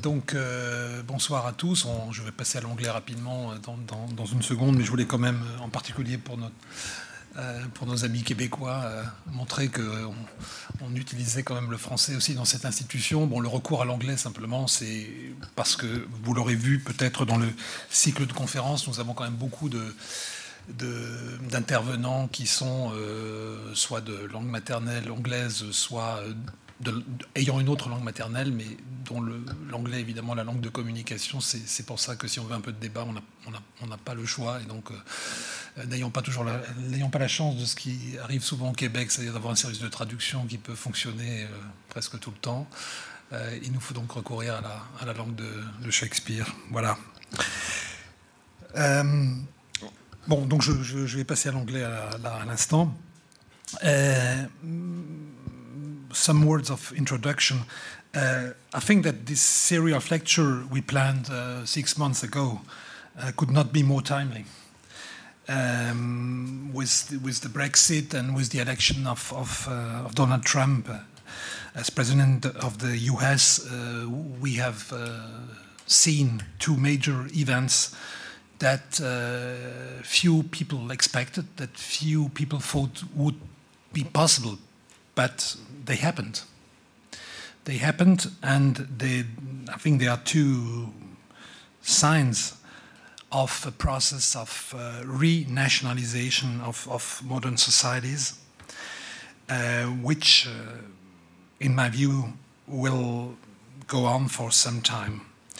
Donc, bonsoir à tous. Je vais passer à l'anglais rapidement dans une seconde, mais je voulais quand même, en particulier pour nos amis québécois, montrer qu'on utilisait quand même le français aussi dans cette institution. Bon, le recours à l'anglais, simplement, c'est parce que, vous l'aurez vu peut-être dans le cycle de conférences, nous avons quand même beaucoup d'intervenants qui sont soit de langue maternelle anglaise, soit ayant une autre langue maternelle, mais dont l'anglais, évidemment, la langue de communication. C'est pour ça que si on veut un peu de débat, on n'a pas le choix. Et donc, n'ayant pas la chance de ce qui arrive souvent au Québec, c'est-à-dire d'avoir un service de traduction qui peut fonctionner presque tout le temps, il nous faut donc recourir à la langue de Shakespeare. Voilà. Bon, donc je vais passer à l'anglais à l'instant. Some words of introduction. I think that this series of lecture we planned 6 months ago could not be more timely. With the Brexit and with the election of Donald Trump as president of the US, we have seen two major events that few people expected, that few people thought would be possible, but they happened. They happened, and I think there are two signs of a process of renationalization of modern societies, which, in my view, will go on for some time.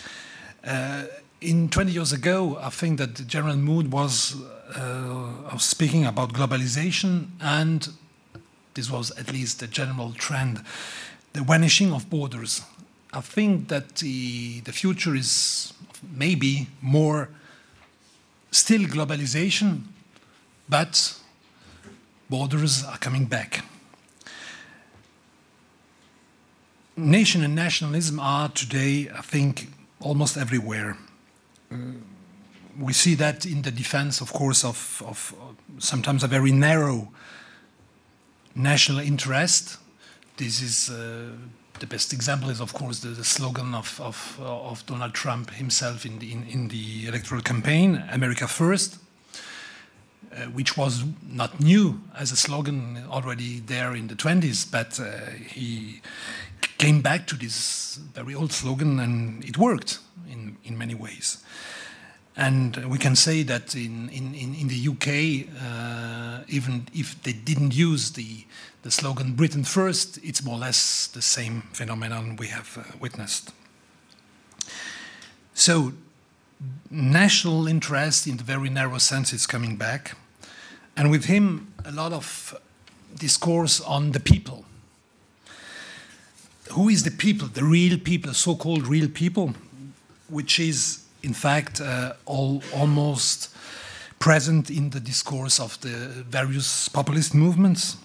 20 years ago, I think that the general mood was of speaking about globalization, and this was at least the general trend, the vanishing of borders. I think that the future is maybe more still globalization, but borders are coming back. Nation and nationalism are today, I think, almost everywhere. We see that in the defense, of course, of sometimes a very narrow national interest. This is the best example is, of course, the slogan of Donald Trump himself in the electoral campaign, America First, which was not new as a slogan already there in the 20s, but he came back to this very old slogan, and it worked in many ways. And we can say that in the UK, even if they didn't use the slogan Britain First, it's more or less the same phenomenon we have witnessed. So national interest in the very narrow sense is coming back. And with him, a lot of discourse on the people. Who is the people, the real people, so-called real people, which is in fact almost present in the discourse of the various populist movements,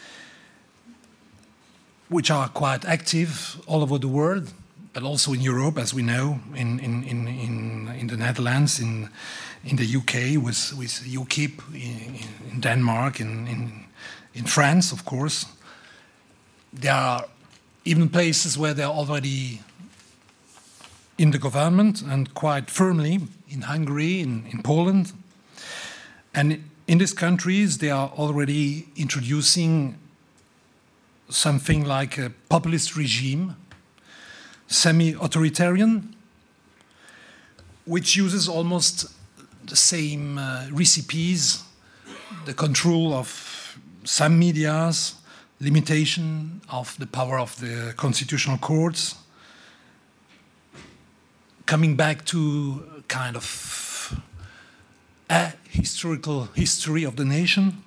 which are quite active all over the world, but also in Europe, as we know, in the Netherlands, in the UK, with UKIP, in Denmark, in France, of course. There are even places where they're already in the government, and quite firmly, in Hungary, in Poland. And in these countries, they are already introducing something like a populist regime, semi-authoritarian, which uses almost the same recipes, the control of some medias, limitation of the power of the constitutional courts, coming back to kind of a historical history of the nation.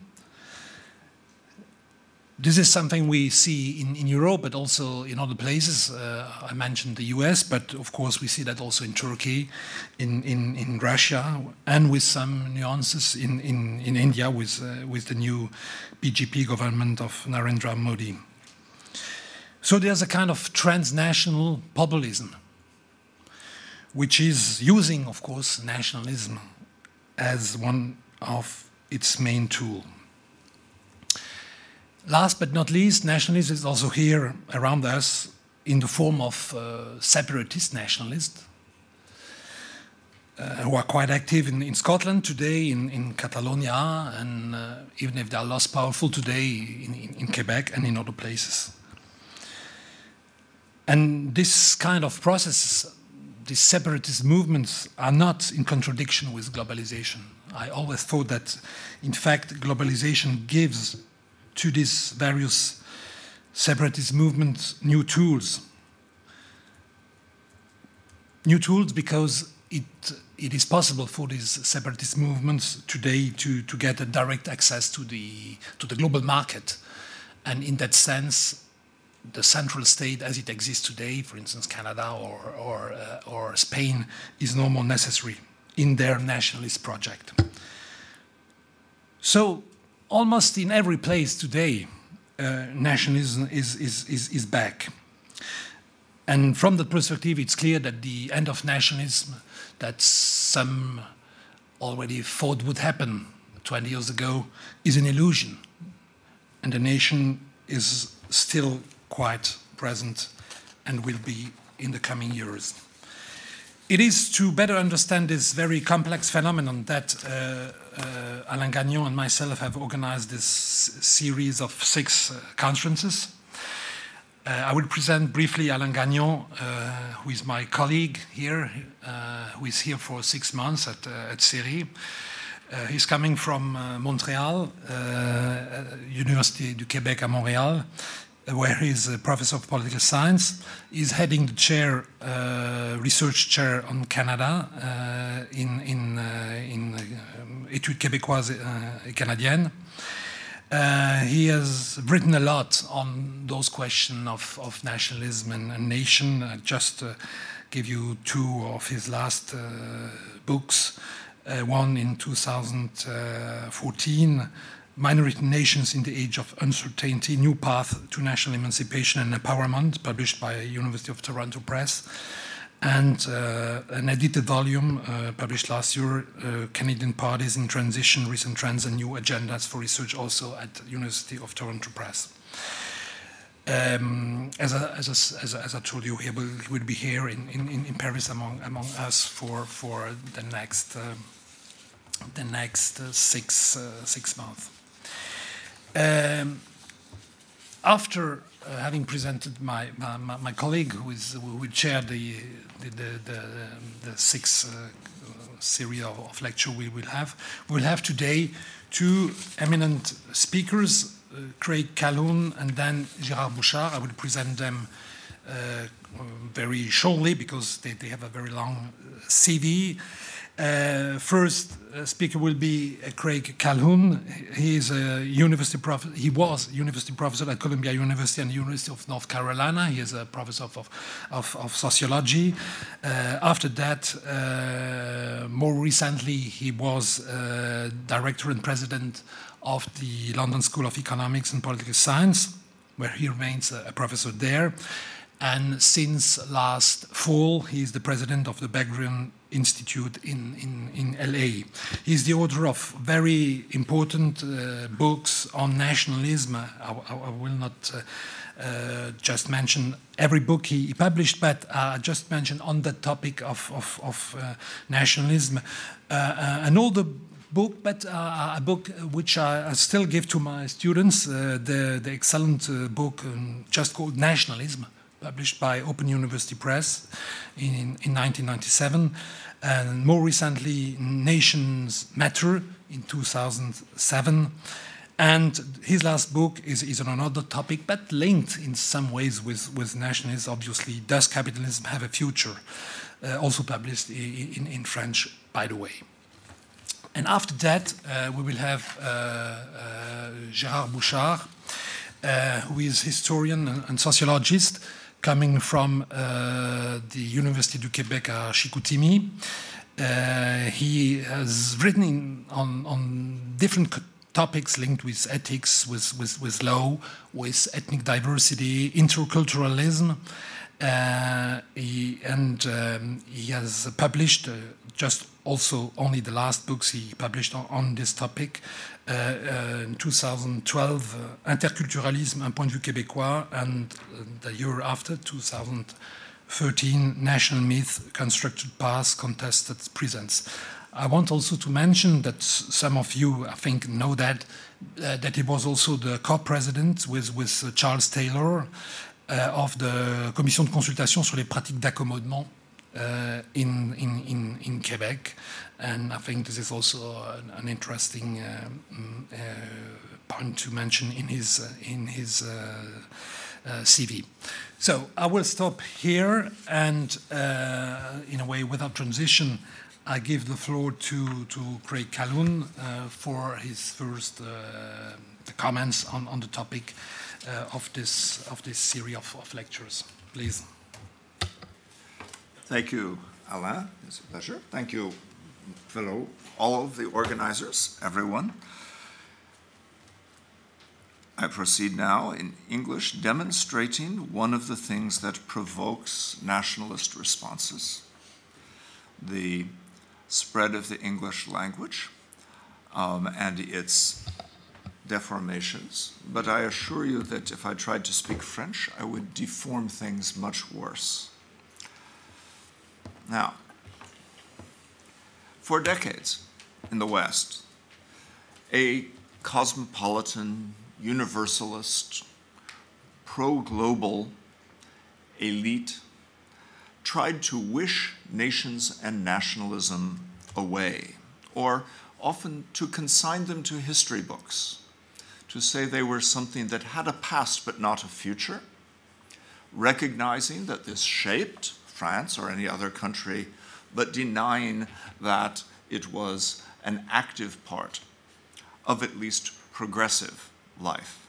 This is something we see in Europe, but also in other places. I mentioned the US, but of course we see that also in Turkey, in Russia, and with some nuances in India with the new BJP government of Narendra Modi. So there's a kind of transnational populism, which is using, of course, nationalism as one of its main tools. Last but not least, nationalism is also here around us in the form of separatist nationalists who are quite active in Scotland today, in Catalonia, and even if they are less powerful today in Quebec and in other places. And this kind of processes, these separatist movements, are not in contradiction with globalization. I always thought that, in fact, globalization gives to these various separatist movements new tools. New tools because it is possible for these separatist movements today to get a direct access to the global market. And in that sense, the central state as it exists today, for instance, Canada or Spain, is no more necessary in their nationalist project. So almost in every place today, nationalism is back. And from that perspective, it's clear that the end of nationalism that some already thought would happen 20 years ago is an illusion. And the nation is still quite present and will be in the coming years. It is to better understand this very complex phenomenon that Alain Gagnon and myself have organized this series of 6 conferences. I will present briefly Alain Gagnon, who is my colleague here, who is here for 6 months at CERI. He's coming from Montreal, Université du Québec à Montréal, where he's a professor of political science. He's heading the chair, research chair on Canada in Études québécoises et canadiennes. He has written a lot on those questions of nationalism and nation. I just give you 2 of his last books. One in 2014, Minority Nations in the Age of Uncertainty, New Path to National Emancipation and Empowerment, published by University of Toronto Press. And an edited volume published last year, Canadian Parties in Transition, Recent Trends and New Agendas for Research, also at University of Toronto Press. As I told you, he will be here in Paris among us for the next 6 months. After having presented my colleague, who will chair the 6 series of lecture we'll have today 2 eminent speakers, Craig Calhoun and then Gérard Bouchard. I will present them very shortly because they have a very long CV. First speaker will be Craig Calhoun. He is a university professor. He was university professor at Columbia University and the University of North Carolina. He is a professor of sociology. After that, more recently, he was director and president of the London School of Economics and Political Science, where he remains a professor there. And since last fall, he is the president of the Ben-Gurion Institute in LA. He's the author of very important books on nationalism. I will not just mention every book he published, but just mention on the topic of nationalism. An older book, but a book which I still give to my students, the excellent book just called Nationalism, published by Open University Press in 1997, and more recently Nations Matter in 2007. And his last book is on another topic, but linked in some ways with nationalism, obviously. Does Capitalism Have a Future? Also published in French, by the way. And after that, we will have Gérard Bouchard, who is historian and sociologist, coming from the Université du Québec à Chicoutimi. He has written on different topics linked with ethics, with law, with ethnic diversity, interculturalism. He has published just also only the last books he published on this topic. In 2012, Interculturalisme, un point de vue québécois, and the year after, 2013, National Myth, Constructed Past, Contested Presents. I want also to mention that some of you, I think, know that he was also the co-president with Charles Taylor of the Commission de consultation sur les pratiques d'accommodement in Quebec, and I think this is also an interesting point to mention in his CV. So I will stop here, and in a way, without transition, I give the floor to Craig Calhoun for his first comments on the topic of this series of lectures. Please. Thank you, Alain. It's a pleasure. Thank you, all of the organizers, everyone. I proceed now in English, demonstrating one of the things that provokes nationalist responses, the spread of the English language and its deformations. But I assure you that if I tried to speak French, I would deform things much worse. Now, for decades in the West, a cosmopolitan, universalist, pro-global elite tried to wish nations and nationalism away, or often to consign them to history books, to say they were something that had a past but not a future, recognizing that this shaped France or any other country, but denying that it was an active part of at least progressive life.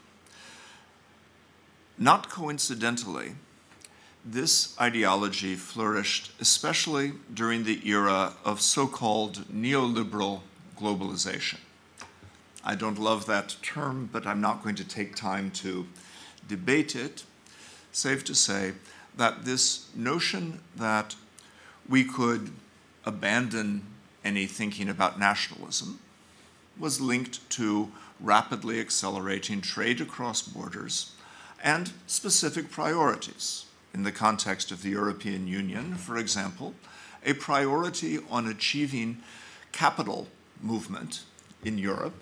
Not coincidentally, this ideology flourished especially during the era of so-called neoliberal globalization. I don't love that term, but I'm not going to take time to debate it, save to say that this notion that we could abandon any thinking about nationalism was linked to rapidly accelerating trade across borders and specific priorities. In the context of the European Union, for example, a priority on achieving capital movement in Europe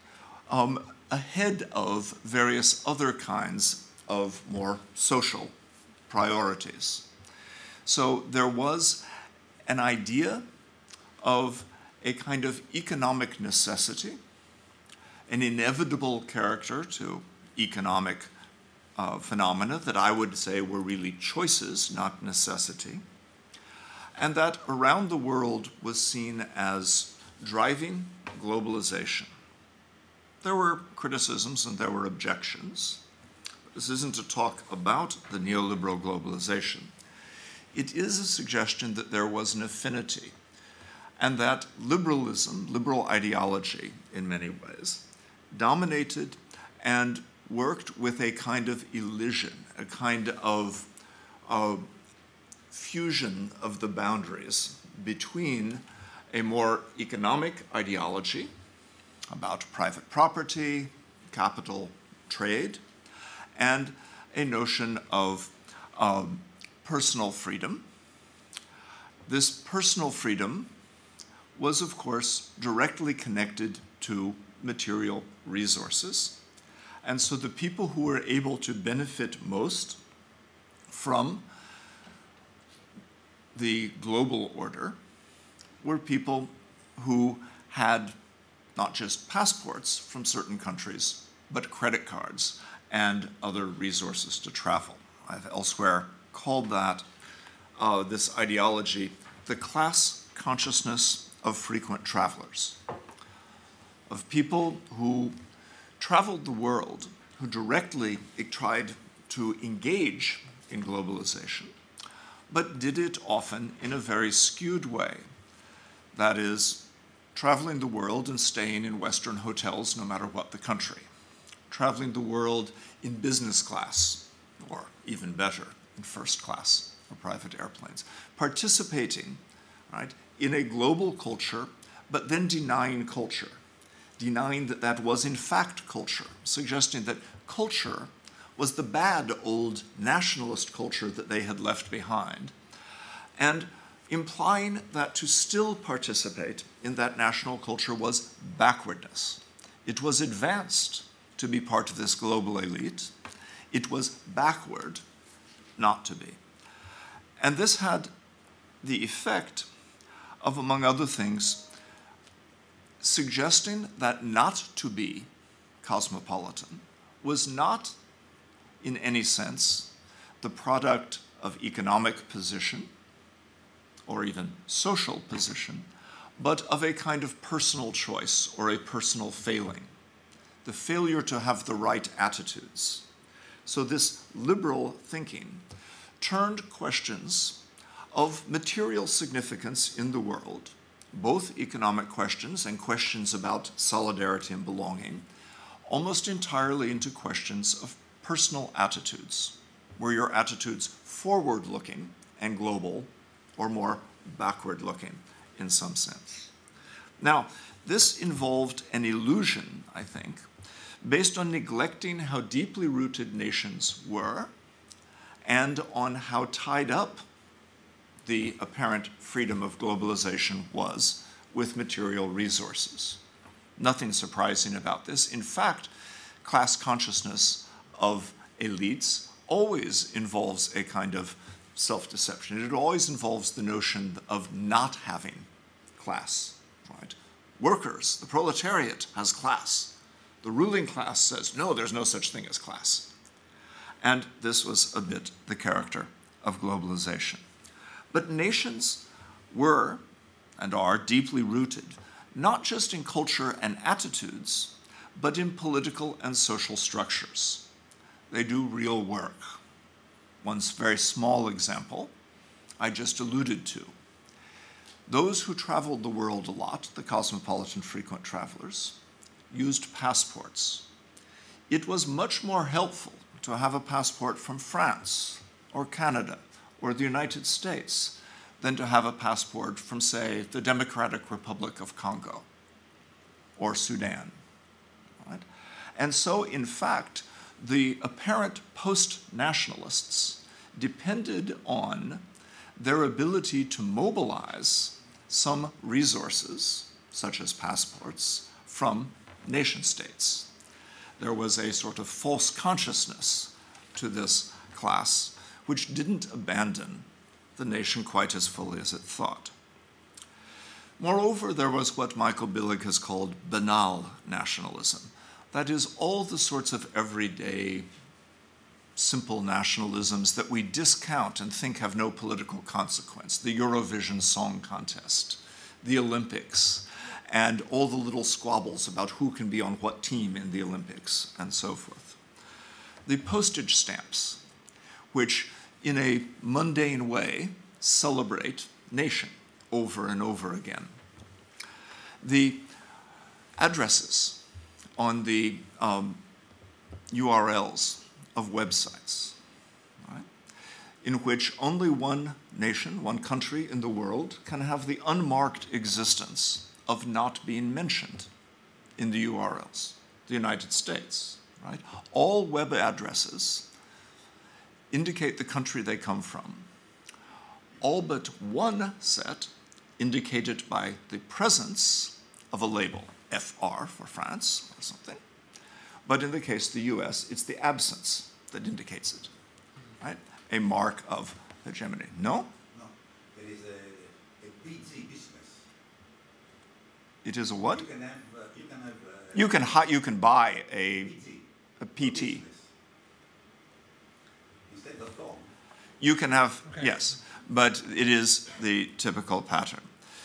ahead of various other kinds of more social priorities. So there was an idea of a kind of economic necessity, an inevitable character to economic phenomena that I would say were really choices, not necessity, and that around the world was seen as driving globalization. There were criticisms and there were objections. This isn't to talk about the neoliberal globalization. It is a suggestion that there was an affinity and that liberalism, liberal ideology in many ways, dominated and worked with a kind of elision, a kind of fusion of the boundaries between a more economic ideology about private property, capital, trade, and a notion of personal freedom. This personal freedom was, of course, directly connected to material resources. And so the people who were able to benefit most from the global order were people who had not just passports from certain countries, but credit cards and other resources to travel. I've elsewhere called that, this ideology, the class consciousness of frequent travelers, of people who traveled the world, who directly tried to engage in globalization, but did it often in a very skewed way. That is, traveling the world and staying in Western hotels no matter what the country, traveling the world in business class, or even better, in first class or private airplanes, participating right, in a global culture, but then denying culture, denying that that was in fact culture, suggesting that culture was the bad old nationalist culture that they had left behind, and implying that to still participate in that national culture was backwardness. It was advanced to be part of this global elite. It was backward not to be. And this had the effect of, among other things, suggesting that not to be cosmopolitan was not, in any sense, the product of economic position or even social position, but of a kind of personal choice or a personal failing, the failure to have the right attitudes. So this liberal thinking turned questions of material significance in the world, both economic questions and questions about solidarity and belonging, almost entirely into questions of personal attitudes. Were your attitudes forward-looking and global, or more backward-looking in some sense? Now, this involved an illusion, I think, based on neglecting how deeply rooted nations were and on how tied up the apparent freedom of globalization was with material resources. Nothing surprising about this. In fact, class consciousness of elites always involves a kind of self-deception. It always involves the notion of not having class, right? Workers, the proletariat has class. The ruling class says, no, there's no such thing as class. And this was a bit the character of globalization. But nations were and are deeply rooted, not just in culture and attitudes, but in political and social structures. They do real work. One very small example I just alluded to. Those who traveled the world a lot, the cosmopolitan frequent travelers, used passports. It was much more helpful to have a passport from France or Canada or the United States than to have a passport from, say, the Democratic Republic of Congo or Sudan. Right? And so, in fact, the apparent post-nationalists depended on their ability to mobilize some resources, such as passports, from nation states. There was a sort of false consciousness to this class, which didn't abandon the nation quite as fully as it thought. Moreover, there was what Michael Billig has called banal nationalism. That is, all the sorts of everyday, simple nationalisms that we discount and think have no political consequence. The Eurovision Song Contest, the Olympics, and all the little squabbles about who can be on what team in the Olympics, and so forth. The postage stamps, which in a mundane way celebrate nation over and over again. The addresses on the URLs of websites, right, in which only one nation, one country in the world can have the unmarked existence of not being mentioned in the URLs, the United States, right? All web addresses indicate the country they come from. All but one set indicated by the presence of a label, FR for France or something. But in the case of the US, it's the absence that indicates it, right? A mark of hegemony. No? No, it is a PT business. It is a what? You You can buy a PT. Business. Instead of .com. You can have, Okay. yes, but it is the typical pattern.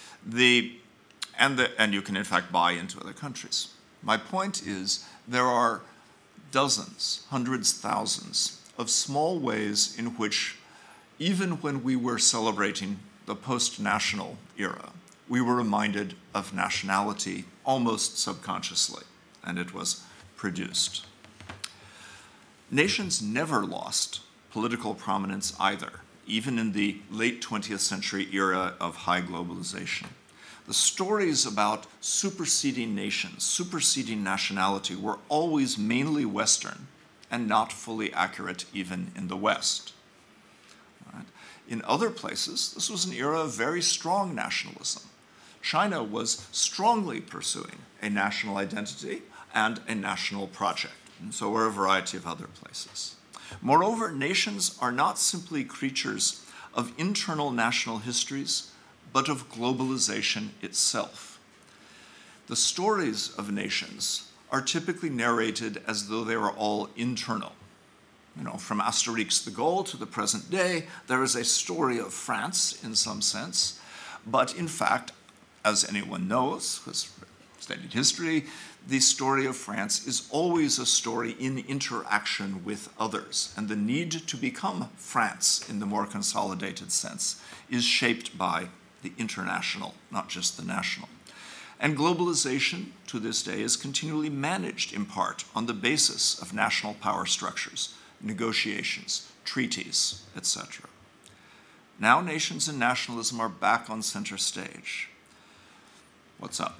And you can in fact buy into other countries. My point is there are dozens, hundreds, thousands of small ways in which, even when we were celebrating the post-national era, we were reminded of nationality almost subconsciously, and it was produced. Nations never lost political prominence either even in the late 20th century era of high globalization. The stories about superseding nations, superseding nationality, were always mainly Western and not fully accurate even in the West. Right? In other places, this was an era of very strong nationalism. China was strongly pursuing a national identity and a national project, and so were a variety of other places. Moreover, nations are not simply creatures of internal national histories, but of globalization itself. The stories of nations are typically narrated as though they were all internal. From Asterix the Gaul to the present day, there is a story of France in some sense, but in fact, as anyone knows, who has studied history, the story of France is always a story in interaction with others, and the need to become France in the more consolidated sense is shaped by the international, not just the national. And globalization, to this day, is continually managed in part on the basis of national power structures, negotiations, treaties, etc. Now nations and nationalism are back on center stage. What's up?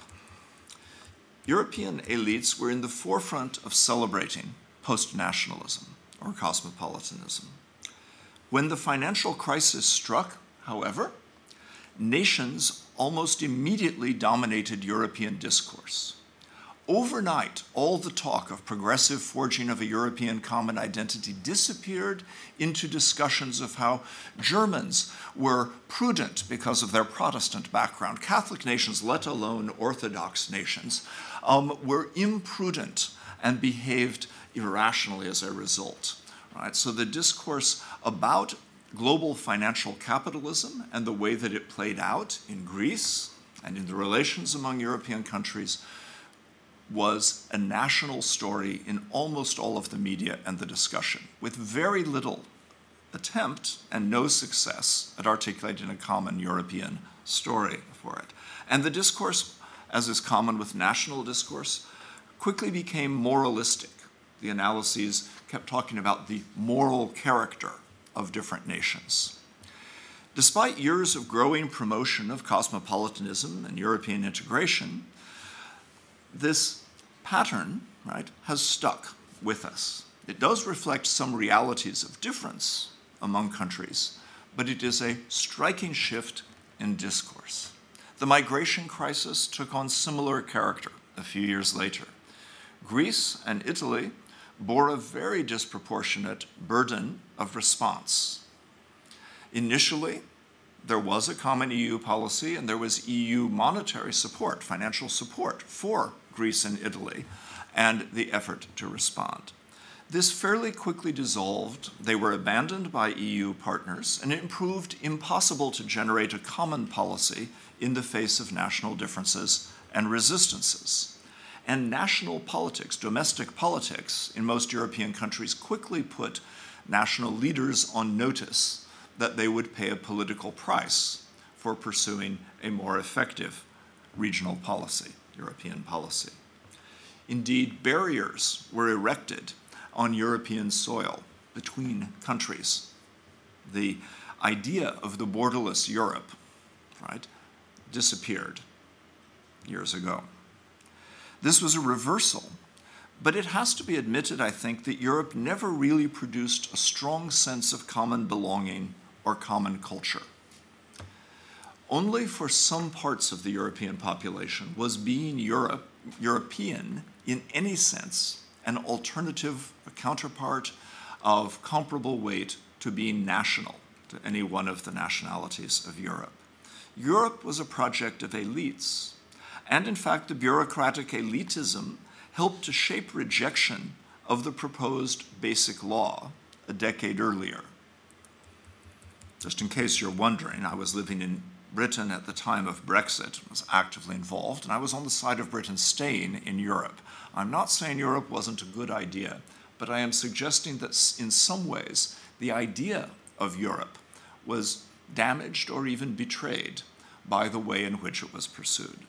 European elites were in the forefront of celebrating post-nationalism or cosmopolitanism. When the financial crisis struck, however, nations almost immediately dominated European discourse. Overnight, all the talk of progressive forging of a European common identity disappeared into discussions of how Germans were prudent because of their Protestant background. Catholic nations, let alone Orthodox nations, were imprudent and behaved irrationally as a result. Right? So the discourse about global financial capitalism and the way that it played out in Greece and in the relations among European countries was a national story in almost all of the media and the discussion, with very little attempt and no success at articulating a common European story for it. And the discourse, as is common with national discourse, quickly became moralistic. The analyses kept talking about the moral character of different nations. Despite years of growing promotion of cosmopolitanism and European integration, this pattern, right, has stuck with us. It does reflect some realities of difference among countries, but it is a striking shift in discourse. The migration crisis took on similar character a few years later. Greece and Italy bore a very disproportionate burden of response. Initially, there was a common EU policy and there was EU monetary support, financial support for Greece and Italy, and the effort to respond. This fairly quickly dissolved. They were abandoned by EU partners, and it proved impossible to generate a common policy in the face of national differences and resistances. And national politics, domestic politics, in most European countries quickly put national leaders on notice that they would pay a political price for pursuing a more effective regional policy, European policy. Indeed, barriers were erected on European soil between countries. The idea of the borderless Europe, right, disappeared years ago. This was a reversal, but it has to be admitted, I think, that Europe never really produced a strong sense of common belonging or common culture. Only for some parts of the European population was being European in any sense an alternative, a counterpart of comparable weight to being national, to any one of the nationalities of Europe. Europe was a project of elites, and in fact the bureaucratic elitism helped to shape rejection of the proposed Basic Law a decade earlier. Just in case you're wondering, I was living in Britain at the time of Brexit, was actively involved, and I was on the side of Britain staying in Europe. I'm not saying Europe wasn't a good idea, but I am suggesting that in some ways the idea of Europe was damaged or even betrayed by the way in which it was pursued.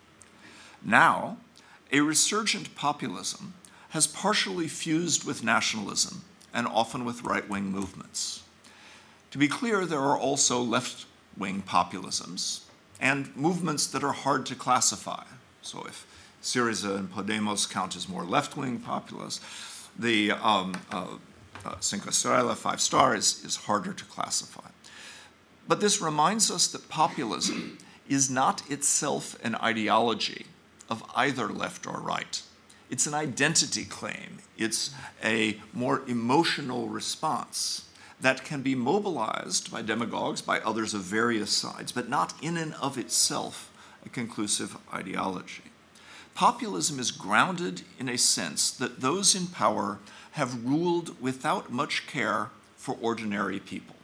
Now, a resurgent populism has partially fused with nationalism and often with right-wing movements. To be clear, there are also left-wing populisms and movements that are hard to classify. So if Syriza and Podemos count as more left-wing populists, the Cinque Stelle, Five Star, is harder to classify. But this reminds us that populism is not itself an ideology of either left or right. It's an identity claim. It's a more emotional response that can be mobilized by demagogues, by others of various sides, but not in and of itself a conclusive ideology. Populism is grounded in a sense that those in power have ruled without much care for ordinary people.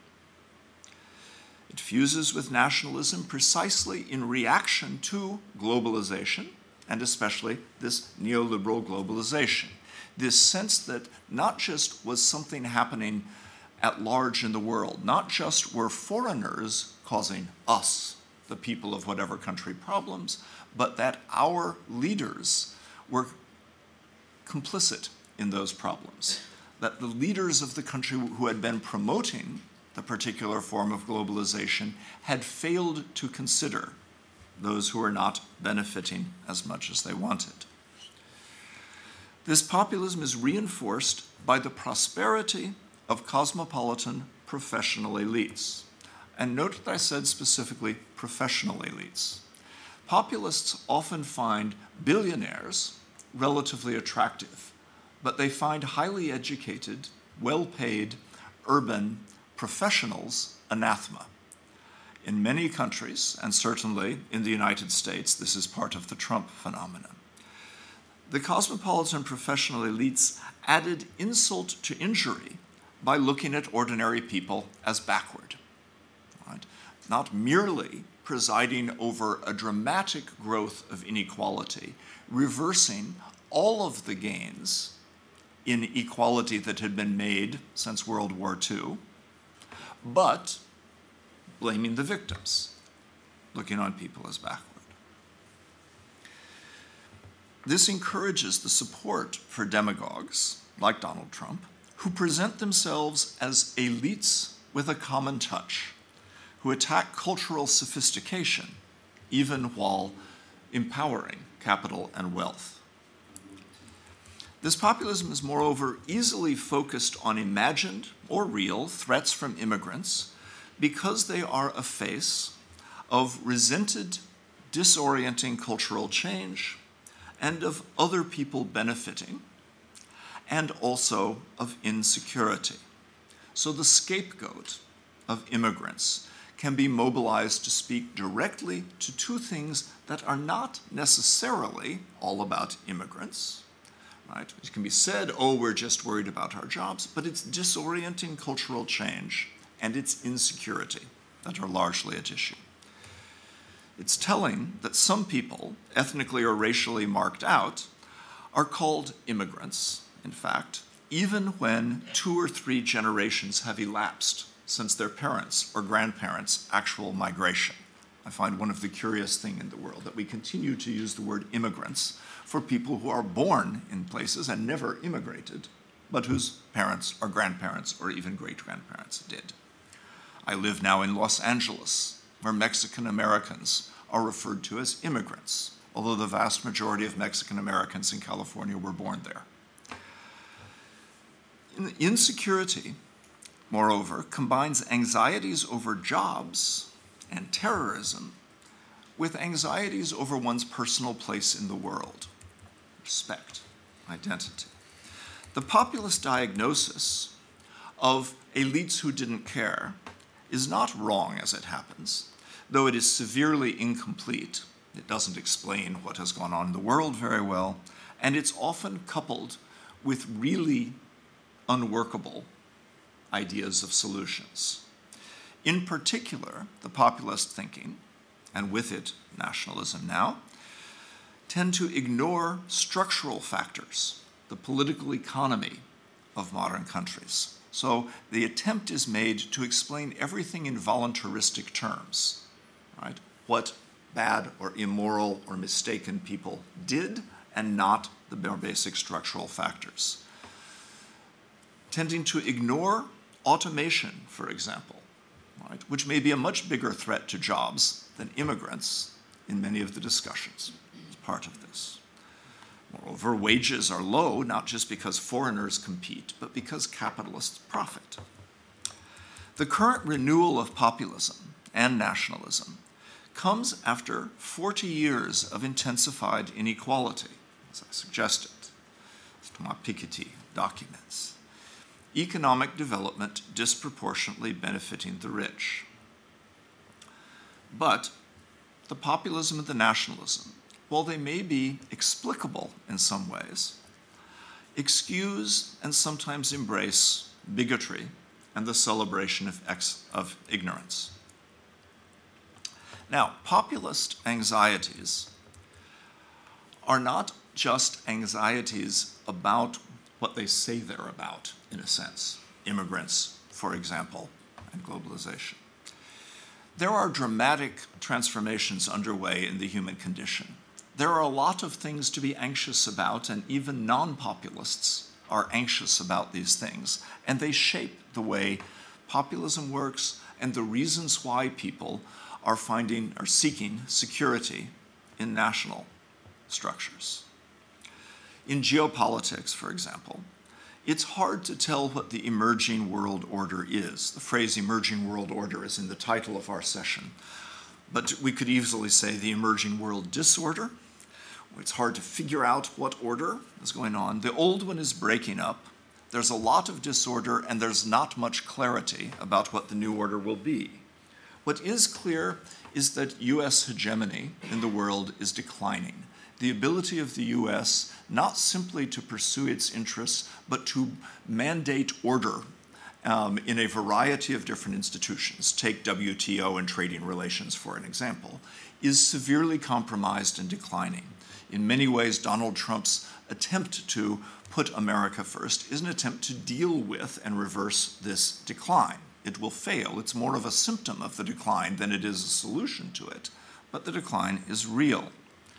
It fuses with nationalism precisely in reaction to globalization, and especially this neoliberal globalization. This sense that not just was something happening at large in the world, not just were foreigners causing us, the people of whatever country, problems, but that our leaders were complicit in those problems, that the leaders of the country who had been promoting the particular form of globalization had failed to consider those who were not benefiting as much as they wanted. This populism is reinforced by the prosperity of cosmopolitan professional elites. And note that I said specifically professional elites. Populists often find billionaires relatively attractive, but they find highly educated, well-paid, urban professionals anathema. In many countries, and certainly in the United States, this is part of the Trump phenomenon. The cosmopolitan professional elites added insult to injury by looking at ordinary people as backward, right? Not merely presiding over a dramatic growth of inequality, reversing all of the gains in equality that had been made since World War II, but blaming the victims, looking on people as backward. This encourages the support for demagogues like Donald Trump, who present themselves as elites with a common touch, who attack cultural sophistication even while empowering capital and wealth. This populism is moreover easily focused on imagined or real threats from immigrants because they are a face of resented, disorienting cultural change and of other people benefiting, and also of insecurity. So the scapegoat of immigrants can be mobilized to speak directly to two things that are not necessarily all about immigrants, right? It can be said, oh, we're just worried about our jobs, but it's disorienting cultural change and it's insecurity that are largely at issue. It's telling that some people, ethnically or racially marked out, are called immigrants, in fact, even when 2 or 3 generations have elapsed since their parents' or grandparents' actual migration. I find one of the curious things in the world that we continue to use the word immigrants for people who are born in places and never immigrated, but whose parents or grandparents or even great-grandparents did. I live now in Los Angeles, where Mexican Americans are referred to as immigrants, although the vast majority of Mexican Americans in California were born there. Insecurity, moreover, combines anxieties over jobs and terrorism with anxieties over one's personal place in the world, respect, identity. The populist diagnosis of elites who didn't care is not wrong as it happens, though it is severely incomplete. It doesn't explain what has gone on in the world very well, and it's often coupled with really unworkable ideas of solutions. In particular, the populist thinking, and with it nationalism now, tend to ignore structural factors, the political economy of modern countries. So the attempt is made to explain everything in voluntaristic terms, right? What bad or immoral or mistaken people did, and not the more basic structural factors. Tending to ignore automation, for example, right, which may be a much bigger threat to jobs than immigrants in many of the discussions as part of this. Moreover, wages are low, not just because foreigners compete, but because capitalists profit. The current renewal of populism and nationalism comes after 40 years of intensified inequality, as I suggested, as Thomas Piketty documents. Economic development disproportionately benefiting the rich. But the populism and the nationalism, while they may be explicable in some ways, excuse and sometimes embrace bigotry and the celebration of ignorance. Now, populist anxieties are not just anxieties about what they say they're about, in a sense, immigrants, for example, and globalization. There are dramatic transformations underway in the human condition. There are a lot of things to be anxious about, and even non-populists are anxious about these things, and they shape the way populism works and the reasons why people are seeking security in national structures. In geopolitics, for example, it's hard to tell what the emerging world order is. The phrase emerging world order is in the title of our session, but we could easily say the emerging world disorder. It's hard to figure out what order is going on. The old one is breaking up. There's a lot of disorder, and there's not much clarity about what the new order will be. What is clear is that US hegemony in the world is declining. The ability of the US not simply to pursue its interests, but to mandate order in a variety of different institutions, take WTO and trading relations for an example, is severely compromised and declining. In many ways, Donald Trump's attempt to put America first is an attempt to deal with and reverse this decline. It will fail. It's more of a symptom of the decline than it is a solution to it, but the decline is real.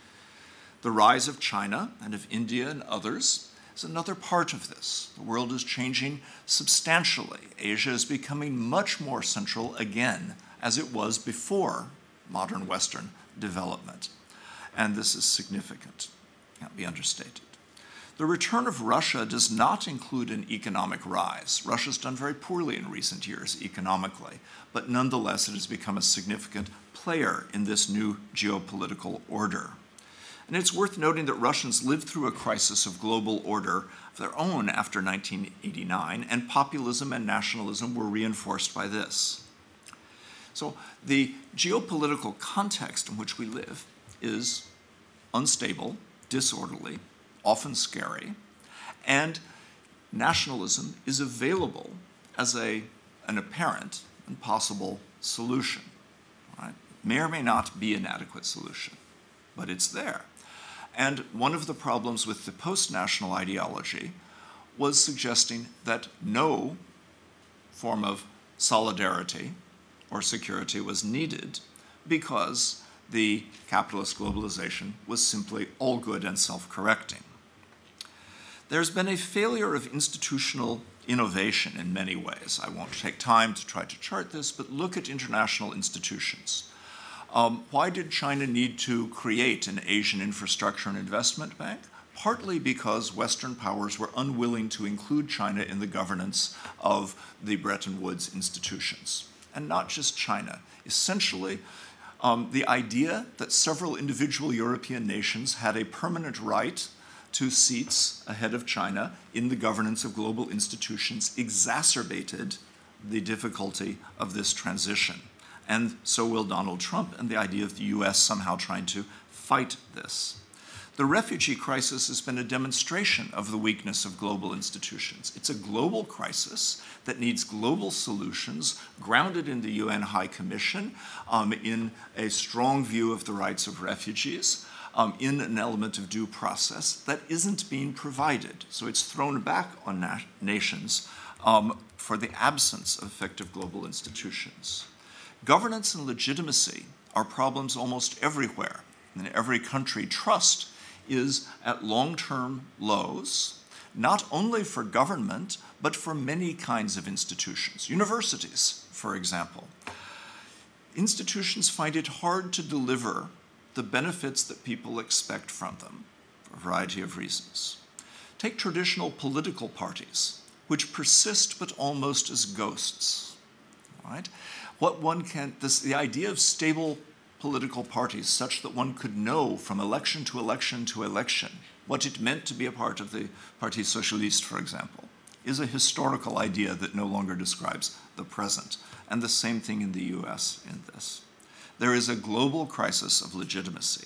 The rise of China and of India and others is another part of this. The world is changing substantially. Asia is becoming much more central again, as it was before modern Western development. And this is significant, can't be understated. The return of Russia does not include an economic rise. Russia's done very poorly in recent years economically, but nonetheless it has become a significant player in this new geopolitical order. And it's worth noting that Russians lived through a crisis of global order of their own after 1989, and populism and nationalism were reinforced by this. So the geopolitical context in which we live is unstable, disorderly, often scary, and nationalism is available as an apparent and possible solution. Right? May or may not be an adequate solution, but it's there. And one of the problems with the post-national ideology was suggesting that no form of solidarity or security was needed because the capitalist globalization was simply all good and self-correcting. There's been a failure of institutional innovation in many ways. I won't take time to try to chart this, but look at international institutions. Why did China need to create an Asian Infrastructure and Investment Bank? Partly because Western powers were unwilling to include China in the governance of the Bretton Woods institutions. And not just China. Essentially, the idea that several individual European nations had a permanent right to seats ahead of China in the governance of global institutions exacerbated the difficulty of this transition. And so will Donald Trump and the idea of the US somehow trying to fight this. The refugee crisis has been a demonstration of the weakness of global institutions. It's a global crisis that needs global solutions grounded in the UN High Commission, in a strong view of the rights of refugees, in an element of due process that isn't being provided. So it's thrown back on nations for the absence of effective global institutions. Governance and legitimacy are problems almost everywhere. In every country, trust is at long-term lows, not only for government, but for many kinds of institutions. Universities, for example. institutions find it hard to deliver the benefits that people expect from them for a variety of reasons. Take traditional political parties, which persist but almost as ghosts. Right? The idea of stable political parties such that one could know from election to election to election what it meant to be a part of the Parti Socialiste, for example, is a historical idea that no longer describes the present. And the same thing in the US in this. There is a global crisis of legitimacy.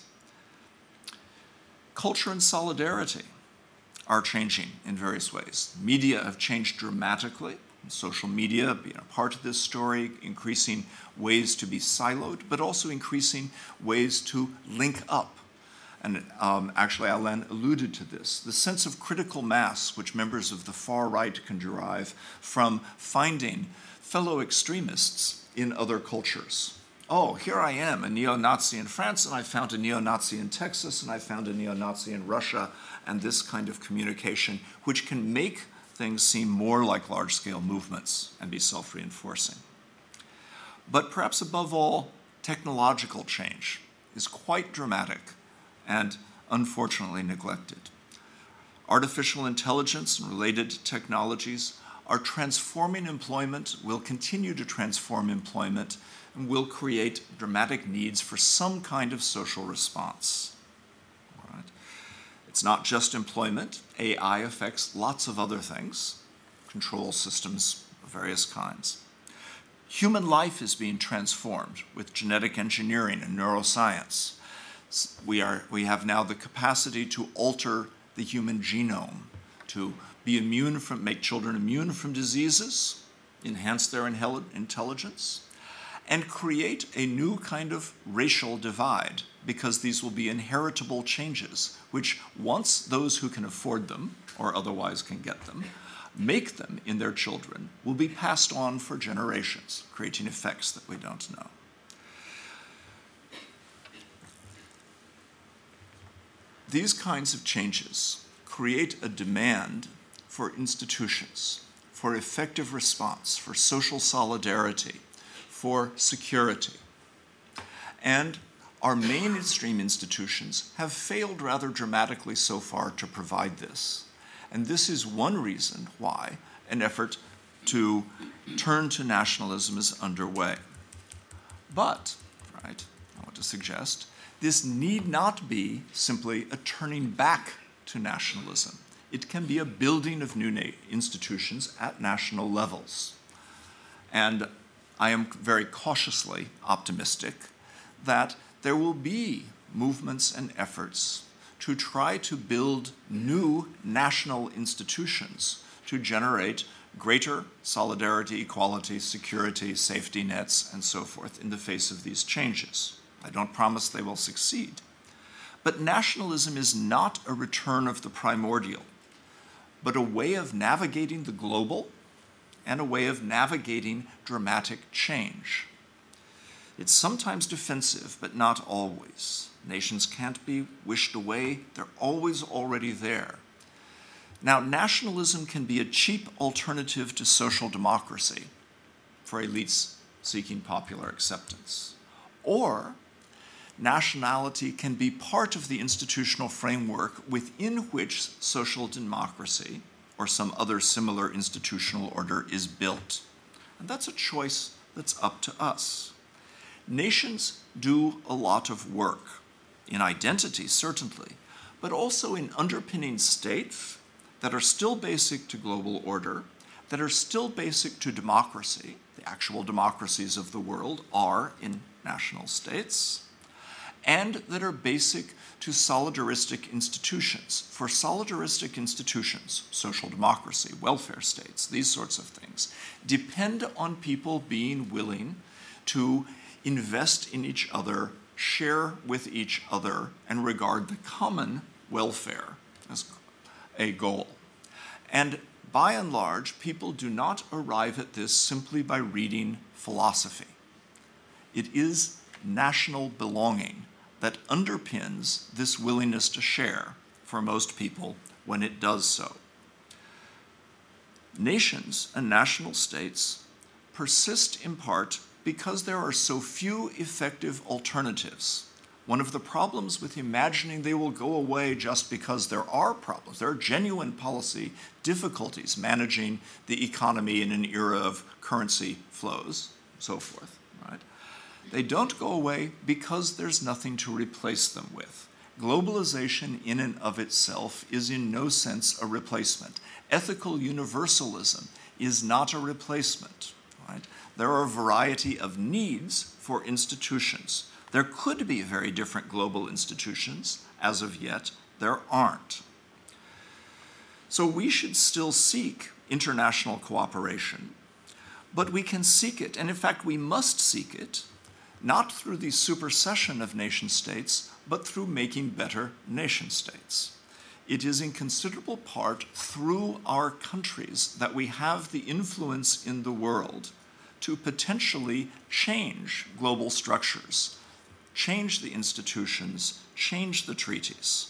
Culture and solidarity are changing in various ways. Media have changed dramatically. Social media being a part of this story, increasing ways to be siloed, but also increasing ways to link up. And actually, Alain alluded to this. The sense of critical mass which members of the far right can derive from finding fellow extremists in other cultures. Oh, here I am, a neo-Nazi in France, and I found a neo-Nazi in Texas, and I found a neo-Nazi in Russia, and this kind of communication, which can make things seem more like large-scale movements and be self-reinforcing. But perhaps above all, technological change is quite dramatic and unfortunately neglected. Artificial intelligence and related technologies are transforming employment, will continue to transform employment, and will create dramatic needs for some kind of social response. All right? It's not just employment. AI affects lots of other things, control systems of various kinds. Human life is being transformed with genetic engineering and neuroscience. We have now the capacity to alter the human genome, to make children immune from diseases, enhance their intelligence, and create a new kind of racial divide, because these will be inheritable changes, which once those who can afford them, or otherwise can get them, make them in their children, will be passed on for generations, creating effects that we don't know. These kinds of changes create a demand for institutions, for effective response, for social solidarity, for security. And our mainstream institutions have failed rather dramatically so far to provide this. And this is one reason why an effort to turn to nationalism is underway. But, right, I want to suggest, this need not be simply a turning back to nationalism. It can be a building of new institutions at national levels. And I am very cautiously optimistic that there will be movements and efforts to try to build new national institutions to generate greater solidarity, equality, security, safety nets, and so forth in the face of these changes. I don't promise they will succeed. But nationalism is not a return of the primordial, but a way of navigating the global and a way of navigating dramatic change. It's sometimes defensive, but not always. Nations can't be wished away. They're always already there. Now, nationalism can be a cheap alternative to social democracy for elites seeking popular acceptance. Or nationality can be part of the institutional framework within which social democracy or some other similar institutional order is built. And that's a choice that's up to us. Nations do a lot of work, in identity certainly, but also in underpinning states that are still basic to global order, that are still basic to democracy. The actual democracies of the world are in national states, and that are basic to solidaristic institutions. For solidaristic institutions, social democracy, welfare states, these sorts of things, depend on people being willing to invest in each other, share with each other, and regard the common welfare as a goal. And by and large, people do not arrive at this simply by reading philosophy. It is national belonging that underpins this willingness to share for most people when it does so. Nations and national states persist in part because there are so few effective alternatives. One of the problems with imagining they will go away just because there are problems, there are genuine policy difficulties managing the economy in an era of currency flows, so forth, right? They don't go away because there's nothing to replace them with. Globalization in and of itself is in no sense a replacement. Ethical universalism is not a replacement, right? There are a variety of needs for institutions. There could be very different global institutions. As of yet, there aren't. So we should still seek international cooperation, but we can seek it, and in fact we must seek it, not through the supersession of nation states, but through making better nation states. It is in considerable part through our countries that we have the influence in the world to potentially change global structures, change the institutions, change the treaties.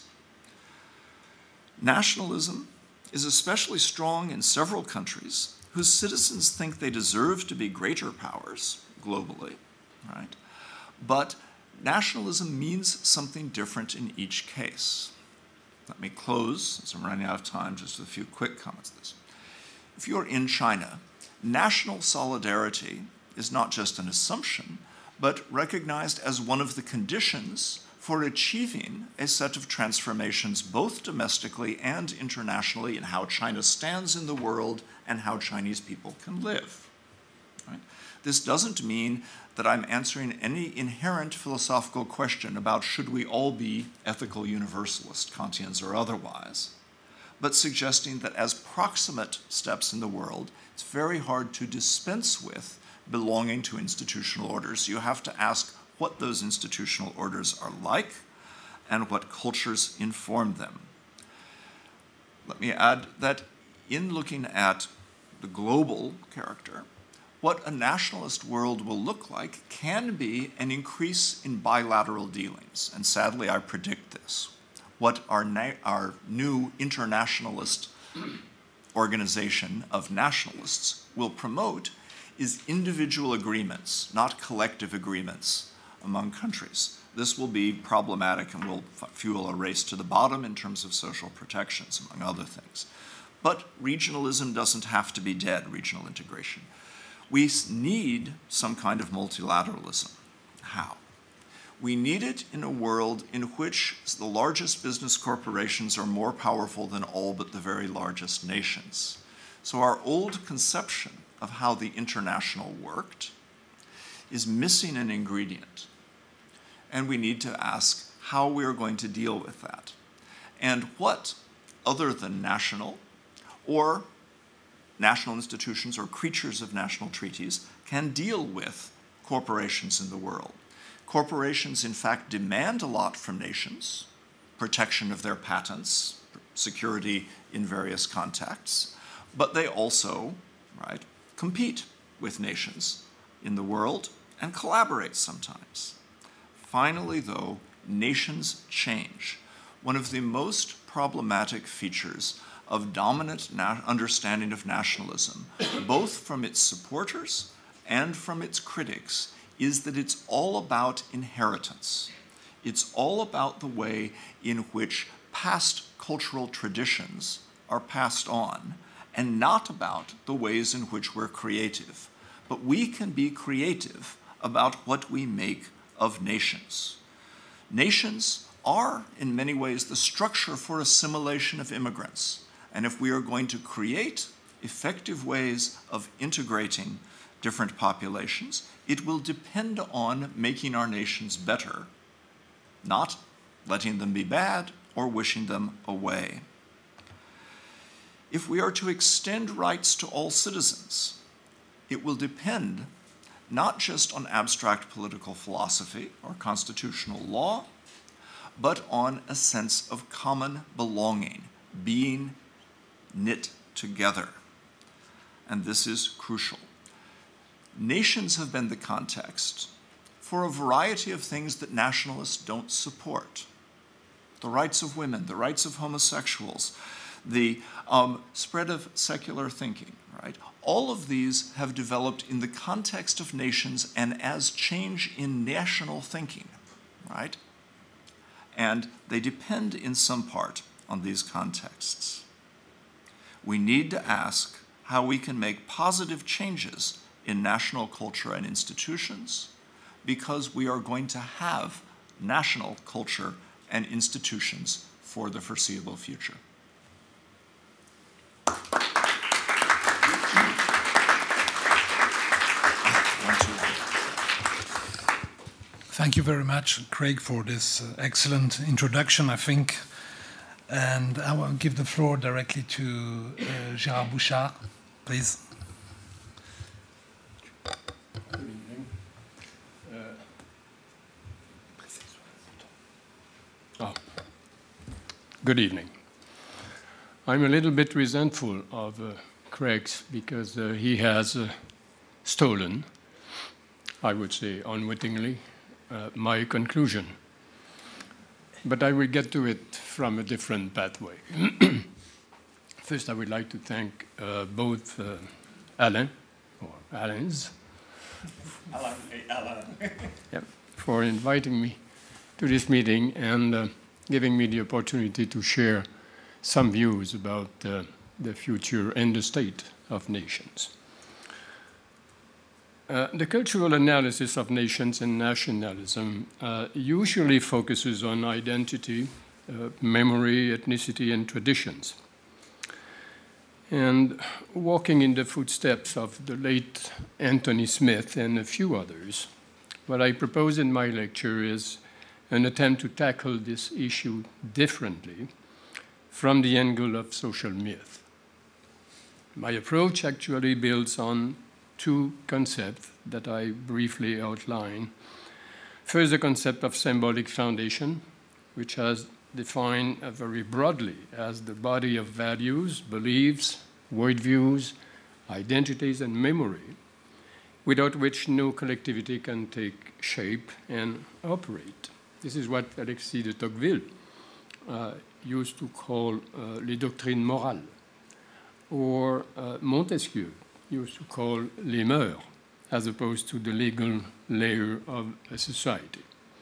Nationalism is especially strong in several countries whose citizens think they deserve to be greater powers globally, right? But nationalism means something different in each case. Let me close, as I'm running out of time, just with a few quick comments on this. If you're in China, national solidarity is not just an assumption, but recognized as one of the conditions for achieving a set of transformations both domestically and internationally in how China stands in the world and how Chinese people can live. Right? This doesn't mean that I'm answering any inherent philosophical question about should we all be ethical universalists, Kantians or otherwise, but suggesting that as proximate steps in the world, it's very hard to dispense with belonging to institutional orders. You have to ask what those institutional orders are like and what cultures inform them. Let me add that in looking at the global character, what a nationalist world will look like can be an increase in bilateral dealings, and sadly I predict this. What our new internationalist organization of nationalists will promote is individual agreements, not collective agreements among countries. This will be problematic and will fuel a race to the bottom in terms of social protections, among other things. But regionalism doesn't have to be dead, regional integration. We need some kind of multilateralism. How? We need it in a world in which the largest business corporations are more powerful than all but the very largest nations. So our old conception of how the international worked is missing an ingredient. And we need to ask how we are going to deal with that. And what, other than national institutions or creatures of national treaties, can deal with corporations in the world. Corporations, in fact, demand a lot from nations, protection of their patents, security in various contexts, but they also, right, compete with nations in the world and collaborate sometimes. Finally, though, nations change. One of the most problematic features of dominant understanding of nationalism, both from its supporters and from its critics, is that it's all about inheritance. It's all about the way in which past cultural traditions are passed on, and not about the ways in which we're creative. But we can be creative about what we make of nations. Nations are, in many ways, the structure for assimilation of immigrants. And if we are going to create effective ways of integrating different populations, it will depend on making our nations better, not letting them be bad or wishing them away. If we are to extend rights to all citizens, it will depend not just on abstract political philosophy or constitutional law, but on a sense of common belonging, being knit together. And this is crucial. Nations have been the context for a variety of things that nationalists don't support. The rights of women, the rights of homosexuals, the spread of secular thinking, right? All of these have developed in the context of nations and as change in national thinking, right? And they depend in some part on these contexts. We need to ask how we can make positive changes in national culture and institutions, because we are going to have national culture and institutions for the foreseeable future. Thank you very much, Craig, for this excellent introduction, I think. And I will give the floor directly to Gérard Bouchard, please. Good evening. Good evening. I'm a little bit resentful of Craig's because he has stolen, I would say unwittingly, my conclusion. But I will get to it from a different pathway. First, I would like to thank both Alain, or Alains, for inviting me to this meeting and giving me the opportunity to share some views about the future and the state of nations. The cultural analysis of nations and nationalism usually focuses on identity, memory, ethnicity, and traditions. And walking in the footsteps of the late Anthony Smith and a few others, what I propose in my lecture is an attempt to tackle this issue differently from the angle of social myth. My approach actually builds on two concepts that I briefly outline. First, the concept of symbolic foundation, which has defined very broadly as the body of values, beliefs, worldviews, identities, and memory, without which no collectivity can take shape and operate. This is what Alexis de Tocqueville used to call les doctrines morales, or Montesquieu used to call les mœurs, as opposed to the legal layer of a society.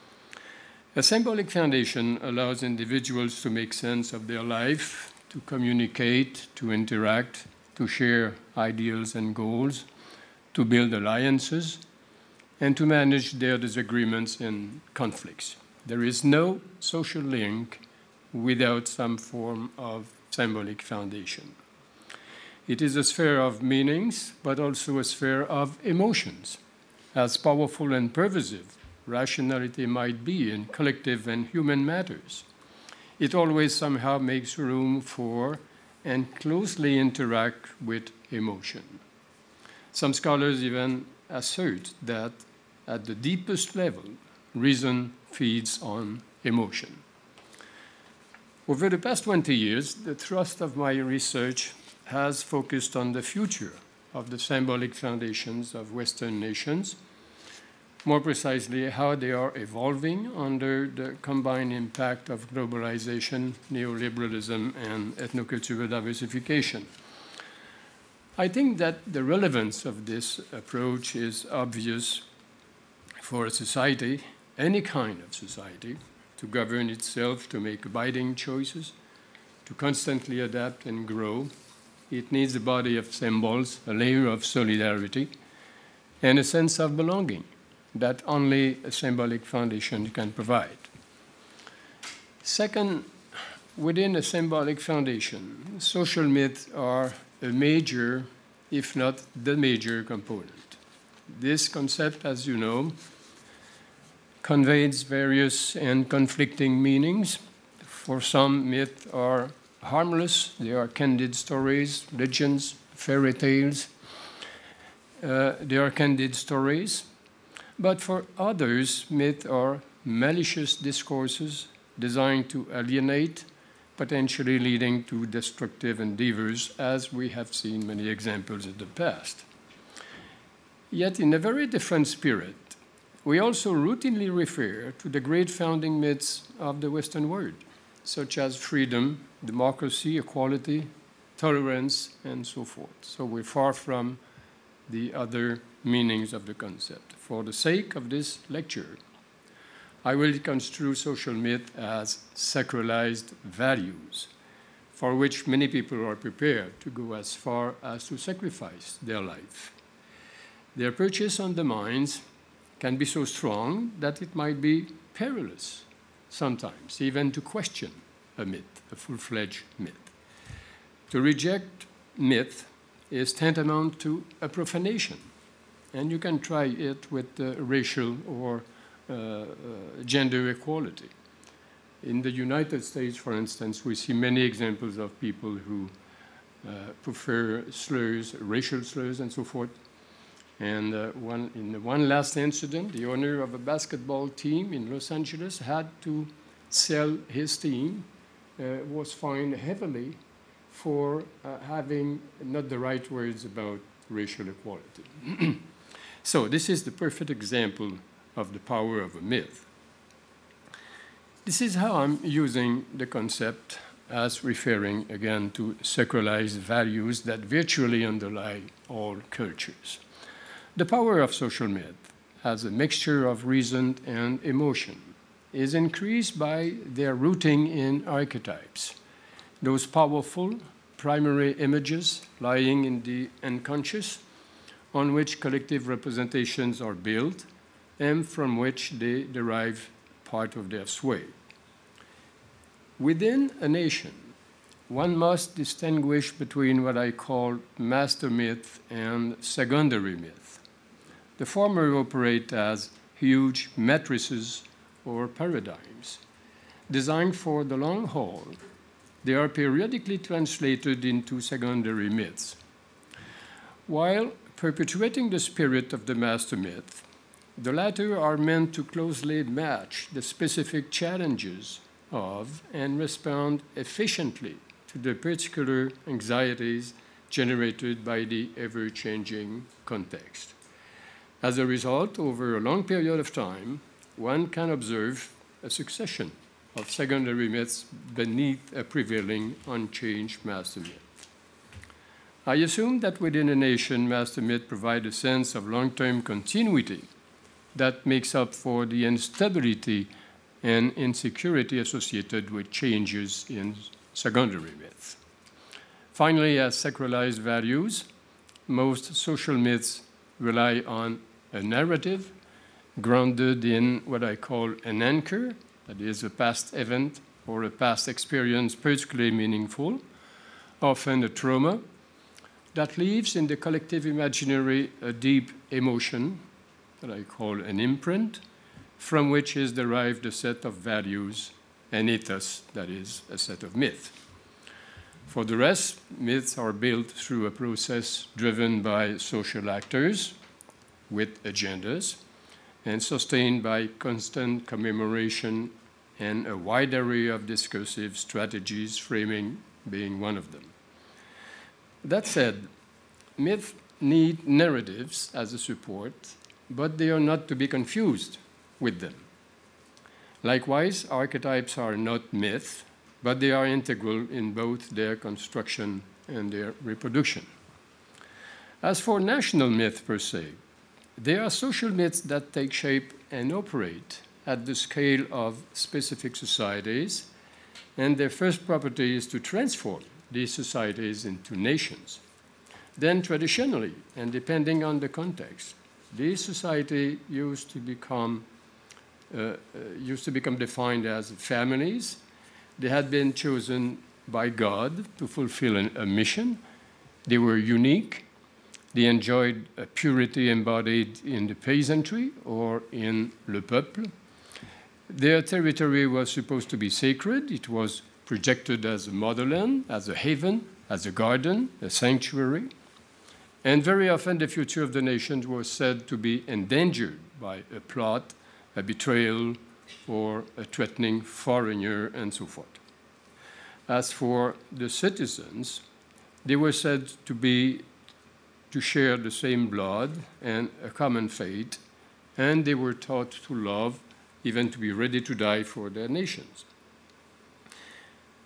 A symbolic foundation allows individuals to make sense of their life, to communicate, to interact, to share ideals and goals, to build alliances, and to manage their disagreements and conflicts. There is no social link without some form of symbolic foundation. It is a sphere of meanings, but also a sphere of emotions. As powerful and pervasive rationality might be in collective and human matters, it always somehow makes room for and closely interact with emotion. Some scholars even assert that at the deepest level, reason feeds on emotion. Over the past 20 years, the thrust of my research has focused on the future of the symbolic foundations of Western nations, more precisely how they are evolving under the combined impact of globalization, neoliberalism, and ethnocultural diversification. I think that the relevance of this approach is obvious for a society, any kind of society, to govern itself, to make abiding choices, to constantly adapt and grow. It needs a body of symbols, a layer of solidarity, and a sense of belonging that only a symbolic foundation can provide. Second, within a symbolic foundation, social myths are a major, if not the major component. This concept, as you know, conveys various and conflicting meanings. For some, myths are harmless. They are candid stories, legends, fairy tales. They are candid stories. But for others, myths are malicious discourses designed to alienate, potentially leading to destructive endeavors, as we have seen many examples in the past. Yet, in a very different spirit, we also routinely refer to the great founding myths of the Western world, such as freedom, democracy, equality, tolerance, and so forth. So we're far from the other meanings of the concept. For the sake of this lecture, I will construe social myth as sacralized values, for which many people are prepared to go as far as to sacrifice their life. Their purchase on the minds can be so strong that it might be perilous sometimes, even to question a myth, a full-fledged myth. To reject myth is tantamount to a profanation, and you can try it with racial or gender equality. In the United States, for instance, we see many examples of people who prefer slurs, racial slurs, and so forth. And in one last incident, the owner of a basketball team in Los Angeles had to sell his team, was fined heavily for having not the right words about racial equality. So this is the perfect example of the power of a myth. This is how I'm using the concept as referring again to sacralized values that virtually underlie all cultures. The power of social myth as a mixture of reason and emotion is increased by their rooting in archetypes, those powerful primary images lying in the unconscious on which collective representations are built and from which they derive part of their sway. Within a nation, one must distinguish between what I call master myth and secondary myth. The former operate as huge matrices or paradigms. Designed for the long haul, they are periodically translated into secondary myths. While perpetuating the spirit of the master myth, the latter are meant to closely match the specific challenges of and respond efficiently to the particular anxieties generated by the ever-changing context. As a result, over a long period of time, one can observe a succession of secondary myths beneath a prevailing unchanged master myth. I assume that within a nation, master myth provide a sense of long-term continuity that makes up for the instability and insecurity associated with changes in secondary myths. Finally, as sacralized values, most social myths rely on a narrative grounded in what I call an anchor, that is a past event or a past experience particularly meaningful, often a trauma, that leaves in the collective imaginary a deep emotion that I call an imprint, from which is derived a set of values, an ethos, that is, a set of myths. For the rest, myths are built through a process driven by social actors with agendas and sustained by constant commemoration and a wide array of discursive strategies, framing being one of them. That said, myths need narratives as a support, but they are not to be confused with them. Likewise, archetypes are not myths, but they are integral in both their construction and their reproduction. As for national myth per se, they are social myths that take shape and operate at the scale of specific societies, and their first property is to transform these societies into nations. Then traditionally, and depending on the context, these societies used to become defined as families. They had been chosen by God to fulfill a mission. They were unique. They enjoyed a purity embodied in the peasantry or in le peuple. Their territory was supposed to be sacred. It was projected as a motherland, as a haven, as a garden, a sanctuary. And very often the future of the nation was said to be endangered by a plot, a betrayal, or a threatening foreigner, and so forth. As for the citizens, they were said to share the same blood and a common fate, and they were taught to love, even to be ready to die for their nations.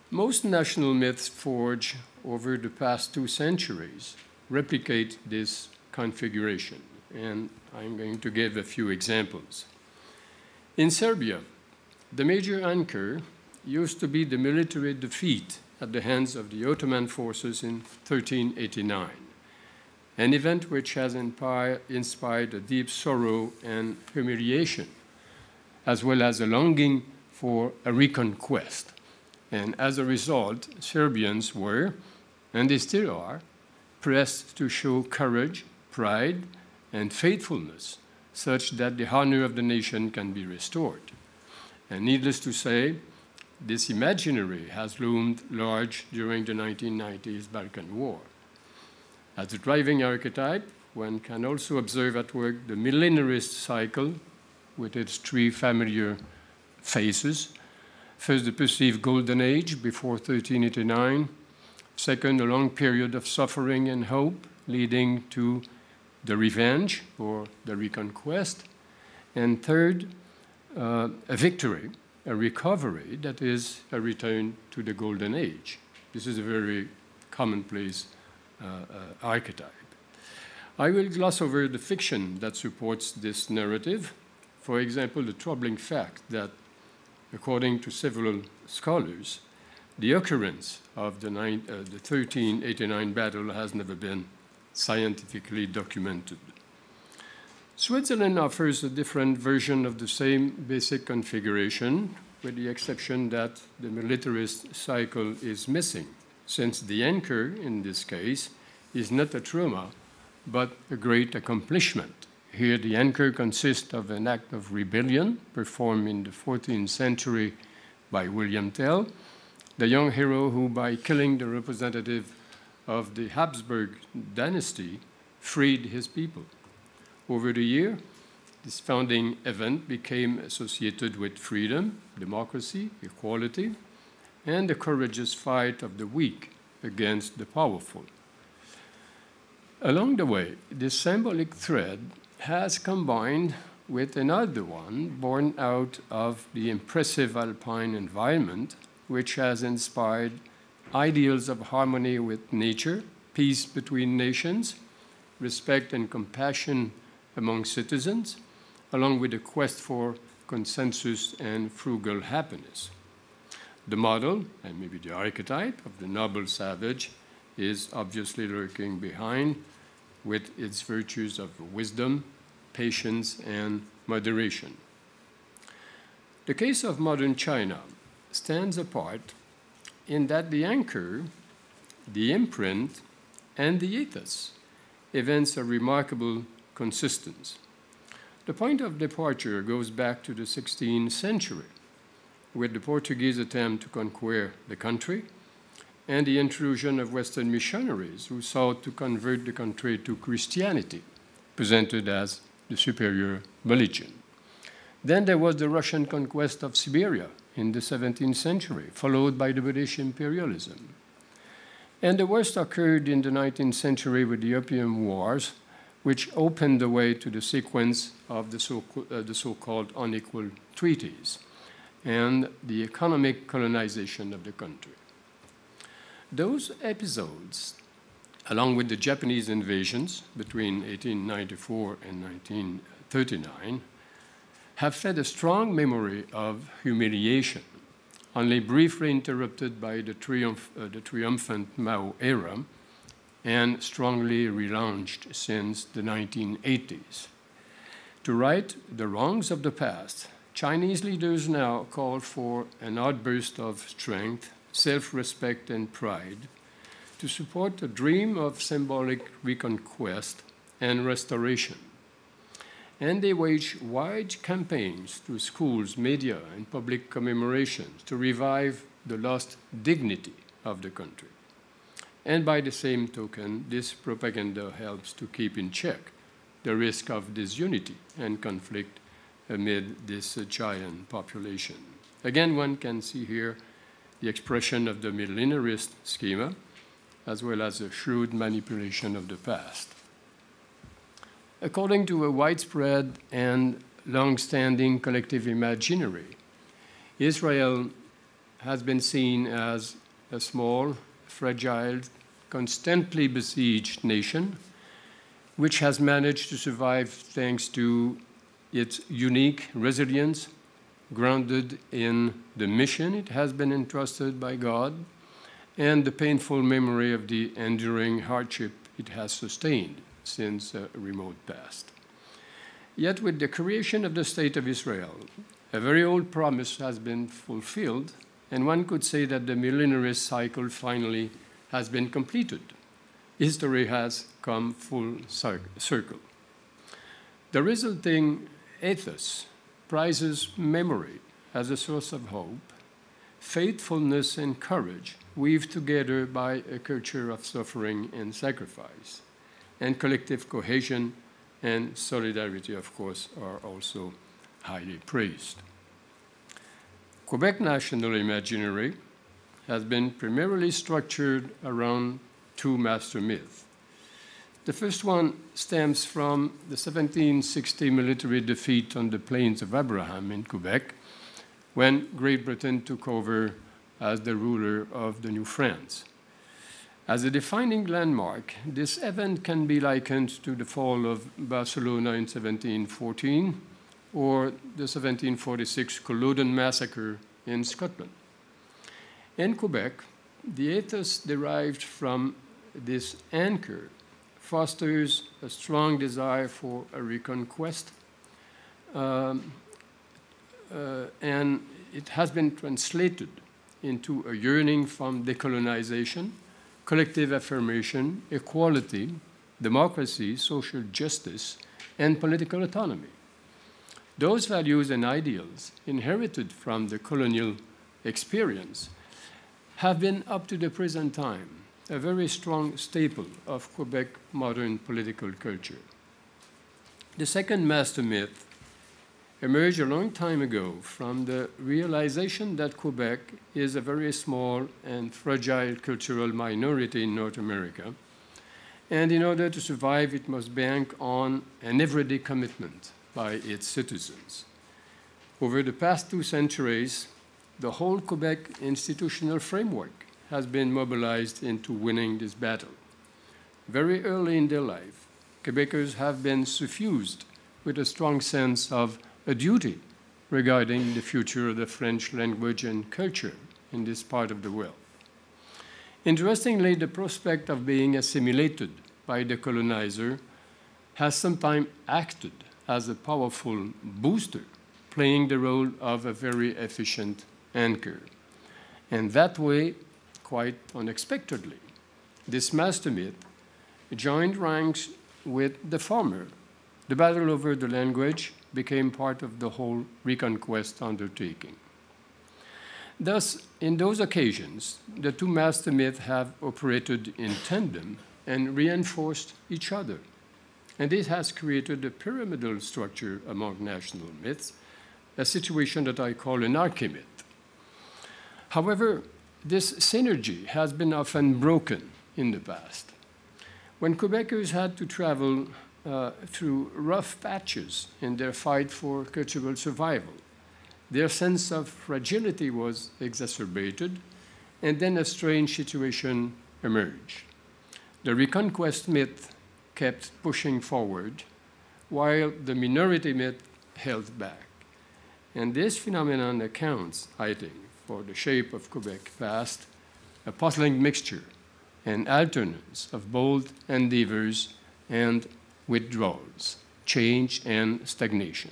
Most national myths forged over the past 2 centuries replicate this configuration, and I'm going to give a few examples. In Serbia, the major anchor used to be the military defeat at the hands of the Ottoman forces in 1389, an event which has inspired a deep sorrow and humiliation, as well as a longing for a reconquest. And as a result, Serbians were, and they still are, pressed to show courage, pride, and faithfulness such that the honor of the nation can be restored. And needless to say, this imaginary has loomed large during the 1990s Balkan War. As a driving archetype, one can also observe at work the millenarist cycle with its 3 familiar phases. First, the perceived golden age before 1389. Second, a long period of suffering and hope leading to the revenge or the reconquest. And third, a victory, a recovery that is a return to the golden age. This is a very commonplace archetype. I will gloss over the fiction that supports this narrative. For example, the troubling fact that, according to several scholars, the occurrence of the 1389 battle has never been scientifically documented. Switzerland offers a different version of the same basic configuration, with the exception that the militarist cycle is missing, since the anchor, in this case, is not a trauma, but a great accomplishment. Here, the anchor consists of an act of rebellion performed in the 14th century by William Tell, the young hero who, by killing the representative of the Habsburg dynasty, freed his people. Over the year, this founding event became associated with freedom, democracy, equality, and the courageous fight of the weak against the powerful. Along the way, this symbolic thread has combined with another one born out of the impressive alpine environment, which has inspired ideals of harmony with nature, peace between nations, respect and compassion among citizens, along with a quest for consensus and frugal happiness. The model, and maybe the archetype, of the noble savage is obviously lurking behind, with its virtues of wisdom, patience, and moderation. The case of modern China stands apart in that the anchor, the imprint, and the ethos evince a remarkable consistence. The point of departure goes back to the 16th century, with the Portuguese attempt to conquer the country and the intrusion of Western missionaries who sought to convert the country to Christianity, presented as the superior religion. Then there was the Russian conquest of Siberia in the 17th century, followed by the British imperialism. And the worst occurred in the 19th century with the Opium Wars, which opened the way to the sequence of the so-called unequal treaties and the economic colonization of the country. Those episodes, along with the Japanese invasions between 1894 and 1939, have fed a strong memory of humiliation, only briefly interrupted by the triumphant Mao era, and strongly relaunched since the 1980s. To right the wrongs of the past, Chinese leaders now call for an outburst of strength, self-respect, and pride to support a dream of symbolic reconquest and restoration. And they wage wide campaigns through schools, media, and public commemorations to revive the lost dignity of the country. And by the same token, this propaganda helps to keep in check the risk of disunity and conflict amid this giant population. Again, one can see here the expression of the millenarist schema, as well as a shrewd manipulation of the past. According to a widespread and long-standing collective imaginary, Israel has been seen as a small, fragile, constantly besieged nation, which has managed to survive thanks to its unique resilience, grounded in the mission it has been entrusted by God, and the painful memory of the enduring hardship it has sustained since a remote past. Yet with the creation of the State of Israel, a very old promise has been fulfilled, and one could say that the millenarist cycle finally has been completed. History has come full circle. The resulting ethos prizes memory as a source of hope, faithfulness and courage weaved together by a culture of suffering and sacrifice, and collective cohesion and solidarity, of course, are also highly praised. Quebec national imaginary has been primarily structured around two master myths. The first one stems from the 1760 military defeat on the Plains of Abraham in Quebec, when Great Britain took over as the ruler of the New France. As a defining landmark, this event can be likened to the fall of Barcelona in 1714 or the 1746 Culloden massacre in Scotland. In Quebec, the ethos derived from this anchor fosters a strong desire for a reconquest, and it has been translated into a yearning from decolonization, collective affirmation, equality, democracy, social justice, and political autonomy. Those values and ideals inherited from the colonial experience have been, up to the present time, a very strong staple of Quebec modern political culture. The second master myth emerged a long time ago from the realization that Quebec is a very small and fragile cultural minority in North America, and in order to survive, it must bank on an everyday commitment by its citizens. Over the past 2 centuries, the whole Quebec institutional framework has been mobilized into winning this battle. Very early in their life, Quebecers have been suffused with a strong sense of a duty regarding the future of the French language and culture in this part of the world. Interestingly, the prospect of being assimilated by the colonizer has sometimes acted as a powerful booster, playing the role of a very efficient anchor. And that way, quite unexpectedly, this master myth joined ranks with the former. The battle over the language became part of the whole reconquest undertaking. Thus, in those occasions, the two master myths have operated in tandem and reinforced each other. And this has created a pyramidal structure among national myths, a situation that I call an archimyth. However, this synergy has been often broken in the past. When Quebecers had to travel through rough patches in their fight for cultural survival, their sense of fragility was exacerbated, and then a strange situation emerged. The reconquest myth kept pushing forward, while the minority myth held back. And this phenomenon accounts, I think, for the shape of Quebec past, a puzzling mixture and alternance of bold endeavors and withdrawals, change and stagnation.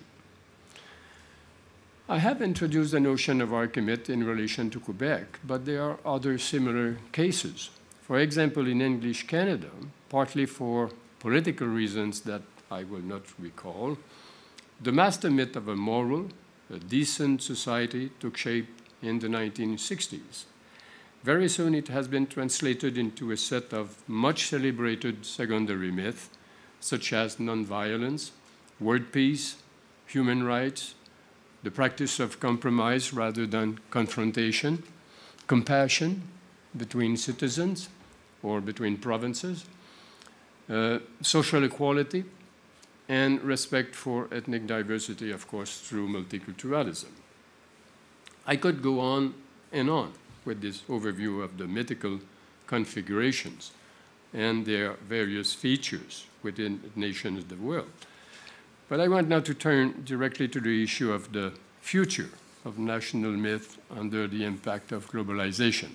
I have introduced the notion of archimyth in relation to Quebec, but there are other similar cases. For example, in English Canada, partly for political reasons that I will not recall, the master myth of a moral, a decent society took shape in the 1960s. Very soon it has been translated into a set of much celebrated secondary myths, such as nonviolence, world peace, human rights, the practice of compromise rather than confrontation, compassion between citizens or between provinces, social equality, and respect for ethnic diversity, of course, through multiculturalism. I could go on and on with this overview of the mythical configurations and their various features within the nations of the world. But I want now to turn directly to the issue of the future of national myth under the impact of globalization.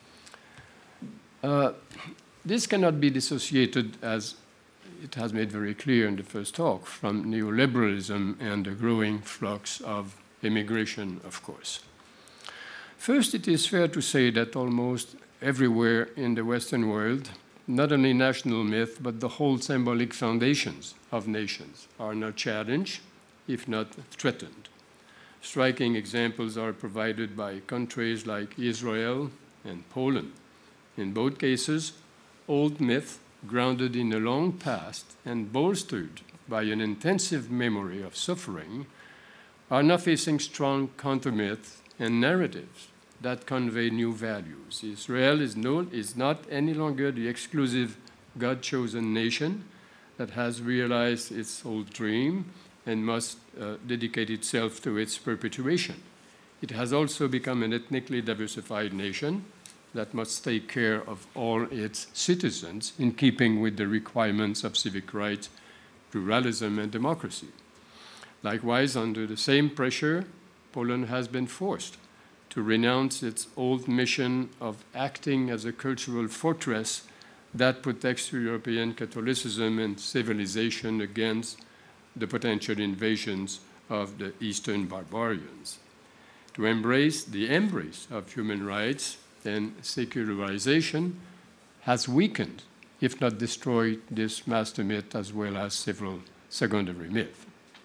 This cannot be dissociated, as it has made very clear in the first talk, from neoliberalism and the growing flux of immigration, of course. First, it is fair to say that almost everywhere in the Western world, not only national myth, but the whole symbolic foundations of nations are now challenged, if not threatened. Striking examples are provided by countries like Israel and Poland. In both cases, old myth, grounded in a long past and bolstered by an intensive memory of suffering, are now facing strong counter-myths and narratives that convey new values. Israel is not any longer the exclusive God-chosen nation that has realized its old dream and must dedicate itself to its perpetuation. It has also become an ethnically diversified nation that must take care of all its citizens in keeping with the requirements of civic rights, pluralism, and democracy. Likewise, under the same pressure, Poland has been forced to renounce its old mission of acting as a cultural fortress that protects European Catholicism and civilization against the potential invasions of the Eastern barbarians. To embrace the embrace of human rights and secularization has weakened, if not destroyed, this master myth as well as several secondary myths.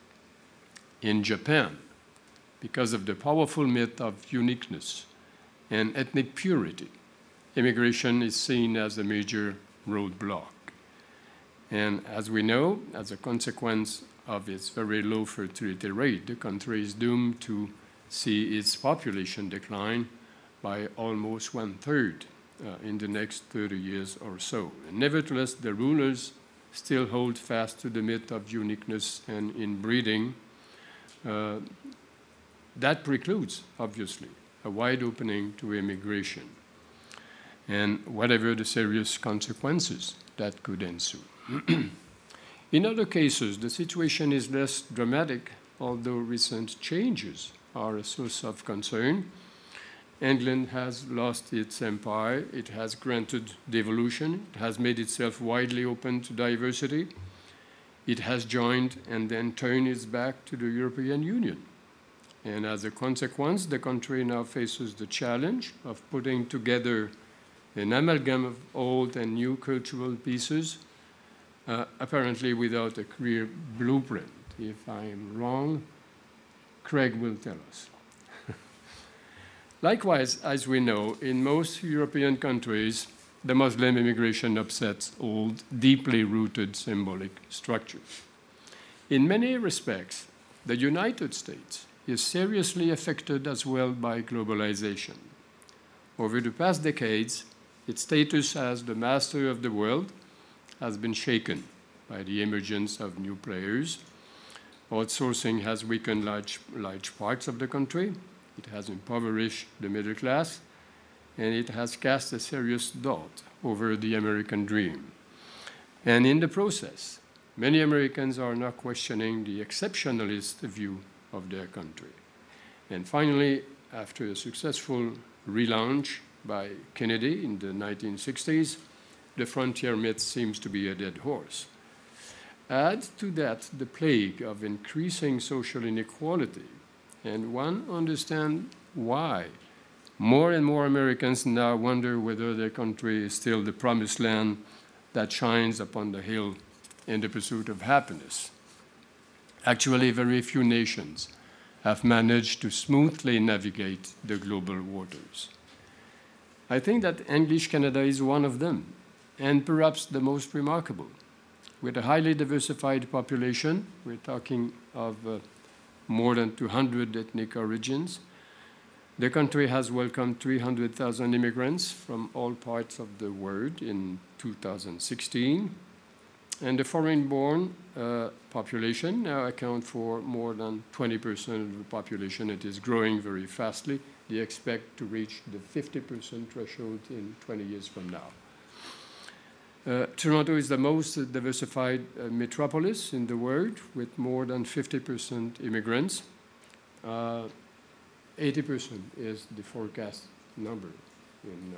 In Japan, because of the powerful myth of uniqueness and ethnic purity, immigration is seen as a major roadblock. And as we know, as a consequence of its very low fertility rate, the country is doomed to see its population decline by almost 1/3 in the next 30 years or so. And nevertheless, the rulers still hold fast to the myth of uniqueness and inbreeding. That precludes, obviously, a wide opening to immigration and whatever the serious consequences that could ensue. In other cases, the situation is less dramatic, although recent changes are a source of concern. England has lost its empire, it has granted devolution, it has made itself widely open to diversity, it has joined and then turned its back to the European Union. And as a consequence, the country now faces the challenge of putting together an amalgam of old and new cultural pieces, apparently without a clear blueprint. If I am wrong, Craig will tell us. Likewise, as we know, in most European countries, the Muslim immigration upsets old, deeply rooted symbolic structures. In many respects, the United States is seriously affected as well by globalization. Over the past decades, its status as the master of the world has been shaken by the emergence of new players. Outsourcing has weakened large parts of the country. It has impoverished the middle class, and it has cast a serious doubt over the American dream. And in the process, many Americans are now questioning the exceptionalist view of their country. And finally, after a successful relaunch by Kennedy in the 1960s, the frontier myth seems to be a dead horse. Add to that the plague of increasing social inequality, and one understands why more and more Americans now wonder whether their country is still the promised land that shines upon the hill in the pursuit of happiness. Actually, very few nations have managed to smoothly navigate the global waters. I think that English Canada is one of them, and perhaps the most remarkable. With a highly diversified population, we're talking of more than 200 ethnic origins. The country has welcomed 300,000 immigrants from all parts of the world in 2016. And the foreign-born population now account for more than 20% of the population. It is growing very fastly. They expect to reach the 50% threshold in 20 years from now. Toronto is the most diversified metropolis in the world, with more than 50% immigrants. 80% is the forecast number in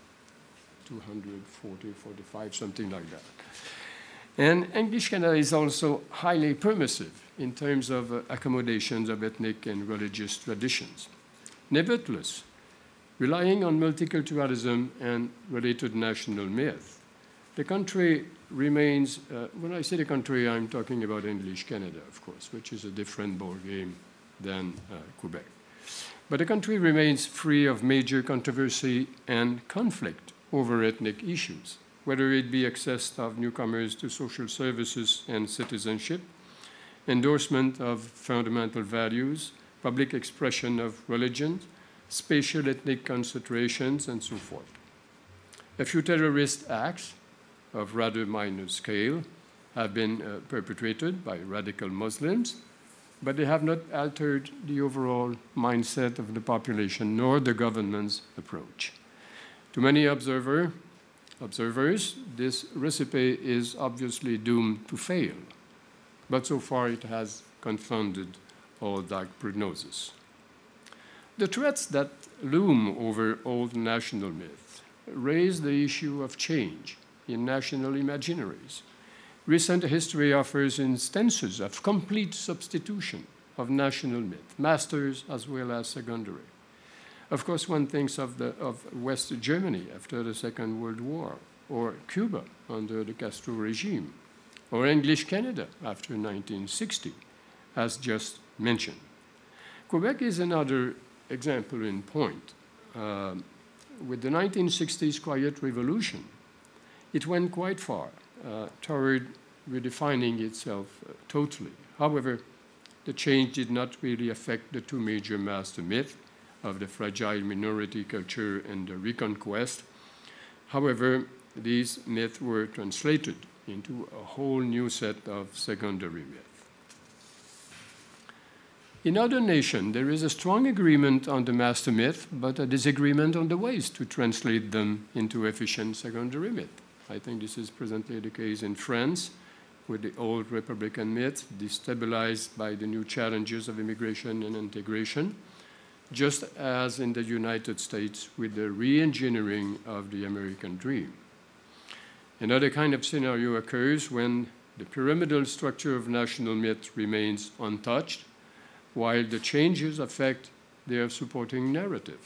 240, 45, something like that. And English Canada is also highly permissive in terms of accommodations of ethnic and religious traditions. Nevertheless, relying on multiculturalism and related national myth, the country remains, when I say the country, I'm talking about English Canada, of course, which is a different ballgame than Quebec. But the country remains free of major controversy and conflict over ethnic issues, whether it be access of newcomers to social services and citizenship, endorsement of fundamental values, public expression of religion, spatial ethnic concentrations, and so forth. A few terrorist acts of rather minor scale have been perpetrated by radical Muslims, but they have not altered the overall mindset of the population nor the government's approach. To many observers, this recipe is obviously doomed to fail, but so far it has confounded all dark prognosis. The threats that loom over old national myths raise the issue of change in national imaginaries. Recent history offers instances of complete substitution of national myth, masters as well as secondary. Of course, one thinks of West Germany after the Second World War, or Cuba under the Castro regime, or English Canada after 1960, as just mentioned. Quebec is another example in point. With the 1960s Quiet Revolution, it went quite far toward redefining itself totally. However, the change did not really affect the two major master myths of the fragile minority culture and the reconquest. However, these myths were translated into a whole new set of secondary myths. In other nations, there is a strong agreement on the master myth, but a disagreement on the ways to translate them into efficient secondary myth. I think this is presently the case in France, with the old Republican myth destabilized by the new challenges of immigration and integration, just as in the United States with the re-engineering of the American dream. Another kind of scenario occurs when the pyramidal structure of national myth remains untouched, while the changes affect their supporting narrative.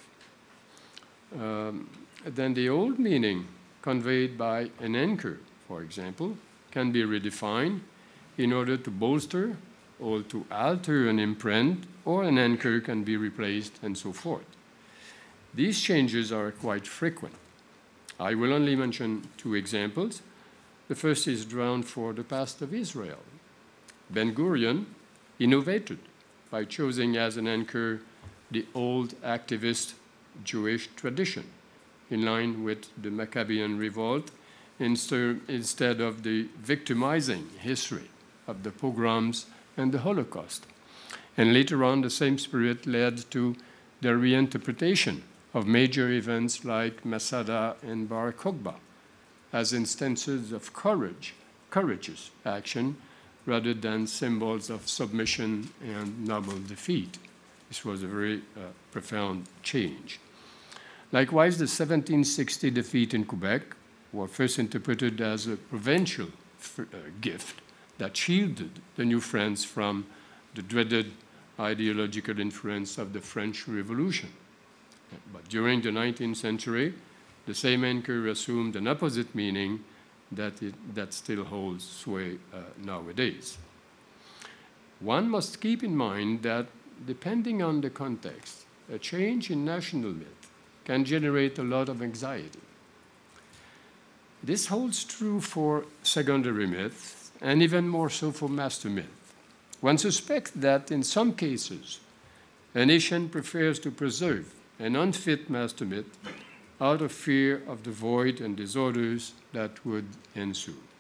Then the old meaning conveyed by an anchor, for example, can be redefined in order to bolster or to alter an imprint, or an anchor can be replaced, and so forth. These changes are quite frequent. I will only mention two examples. The first is drawn for the past of Israel. Ben-Gurion innovated by choosing as an anchor the old activist Jewish tradition, in line with the Maccabean revolt, instead of the victimizing history of the pogroms and the Holocaust. And later on, the same spirit led to the reinterpretation of major events like Masada and Bar Kokhba as instances of courageous action rather than symbols of submission and noble defeat. This was a very profound change. Likewise, the 1760 defeat in Quebec was first interpreted as a provincial gift that shielded the New France from the dreaded ideological influence of the French Revolution. But during the 19th century, the same anchor assumed an opposite meaning that still holds sway nowadays. One must keep in mind that, depending on the context, a change in national myth can generate a lot of anxiety. This holds true for secondary myths, and even more so for master myth. One suspects that in some cases, a nation prefers to preserve an unfit master myth out of fear of the void and disorders that would ensue.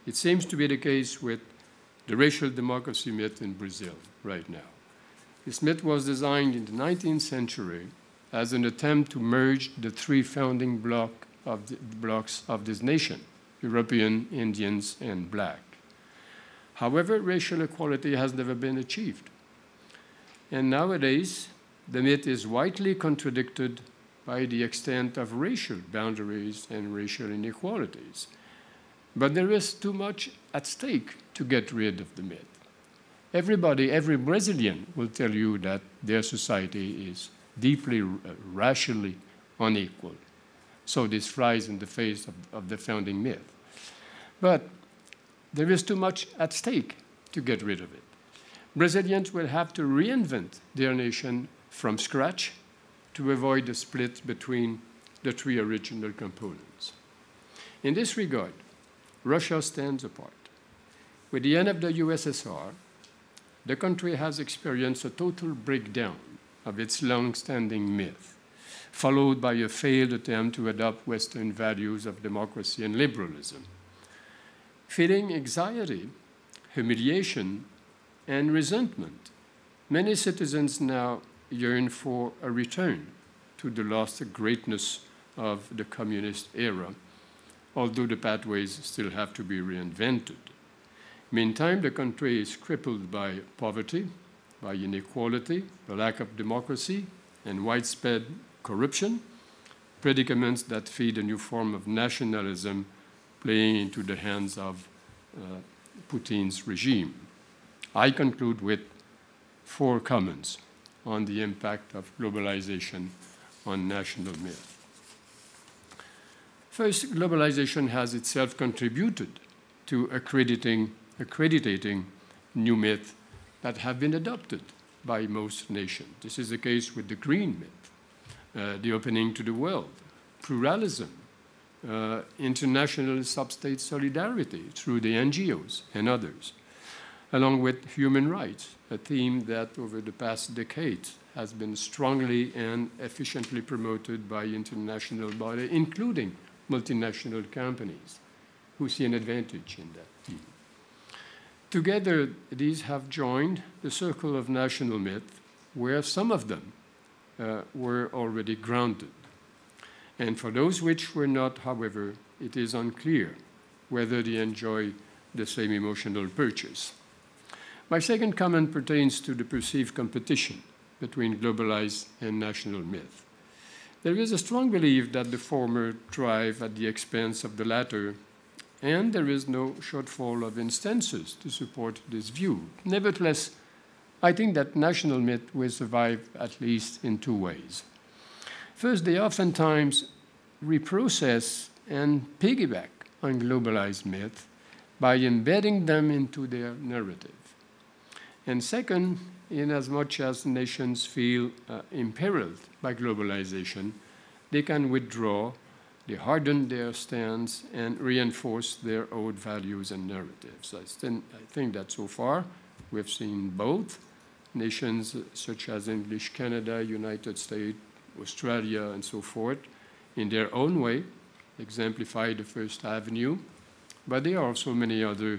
It seems to be the case with the racial democracy myth in Brazil right now. This myth was designed in the 19th century as an attempt to merge the three founding blocks of this nation: European, Indians, and Black. However, racial equality has never been achieved. And nowadays, the myth is widely contradicted by the extent of racial boundaries and racial inequalities. But there is too much at stake to get rid of the myth. Everybody, every Brazilian will tell you that their society is deeply racially unequal. So this flies in the face of the founding myth. But there is too much at stake to get rid of it. Brazilians will have to reinvent their nation from scratch to avoid the split between the three original components. In this regard, Russia stands apart. With the end of the USSR, the country has experienced a total breakdown of its long-standing myth, followed by a failed attempt to adopt Western values of democracy and liberalism. Feeling anxiety, humiliation, and resentment, many citizens now yearn for a return to the lost greatness of the communist era, although the pathways still have to be reinvented. Meantime, the country is crippled by poverty, by inequality, the lack of democracy, and widespread corruption, predicaments that feed a new form of nationalism playing into the hands of Putin's regime. I conclude with 4 comments on the impact of globalization on national myth. First, globalization has itself contributed to accrediting new myths that have been adopted by most nations. This is the case with the green myth, the opening to the world, pluralism, international sub-state solidarity through the NGOs and others, along with human rights, a theme that over the past decades has been strongly and efficiently promoted by international bodies, including multinational companies, who see an advantage in that theme. Together, these have joined the circle of national myth, where some of them were already grounded. And for those which were not, however, it is unclear whether they enjoy the same emotional purchase. My second comment pertains to the perceived competition between globalized and national myth. There is a strong belief that the former thrive at the expense of the latter, and there is no shortfall of instances to support this view. Nevertheless, I think that national myth will survive at least in 2 ways. First, they oftentimes reprocess and piggyback on globalized myth by embedding them into their narrative. And second, inasmuch as nations feel imperiled by globalization, they can withdraw, they harden their stance, and reinforce their own values and narratives. I think that so far we've seen both nations such as English Canada, United States, Australia, and so forth, in their own way, exemplify the First Avenue, but there are also many other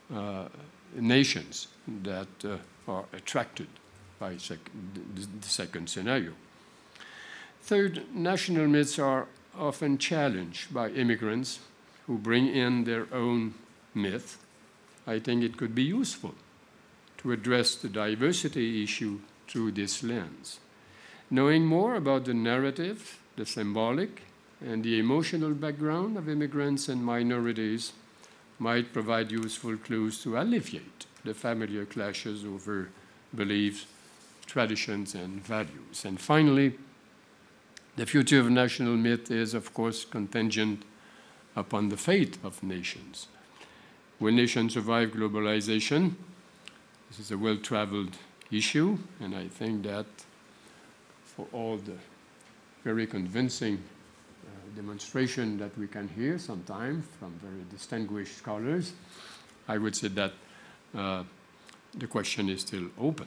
nations that are attracted by the second scenario. Third, national myths are often challenged by immigrants who bring in their own myth. I think it could be useful to address the diversity issue through this lens. Knowing more about the narrative, the symbolic, and the emotional background of immigrants and minorities might provide useful clues to alleviate the familiar clashes over beliefs, traditions, and values. And finally, the future of national myth is, of course, contingent upon the fate of nations. Will nations survive globalization? This is a well-traveled issue, and I think that for all the very convincing demonstration that we can hear sometimes from very distinguished scholars, I would say that the question is still open.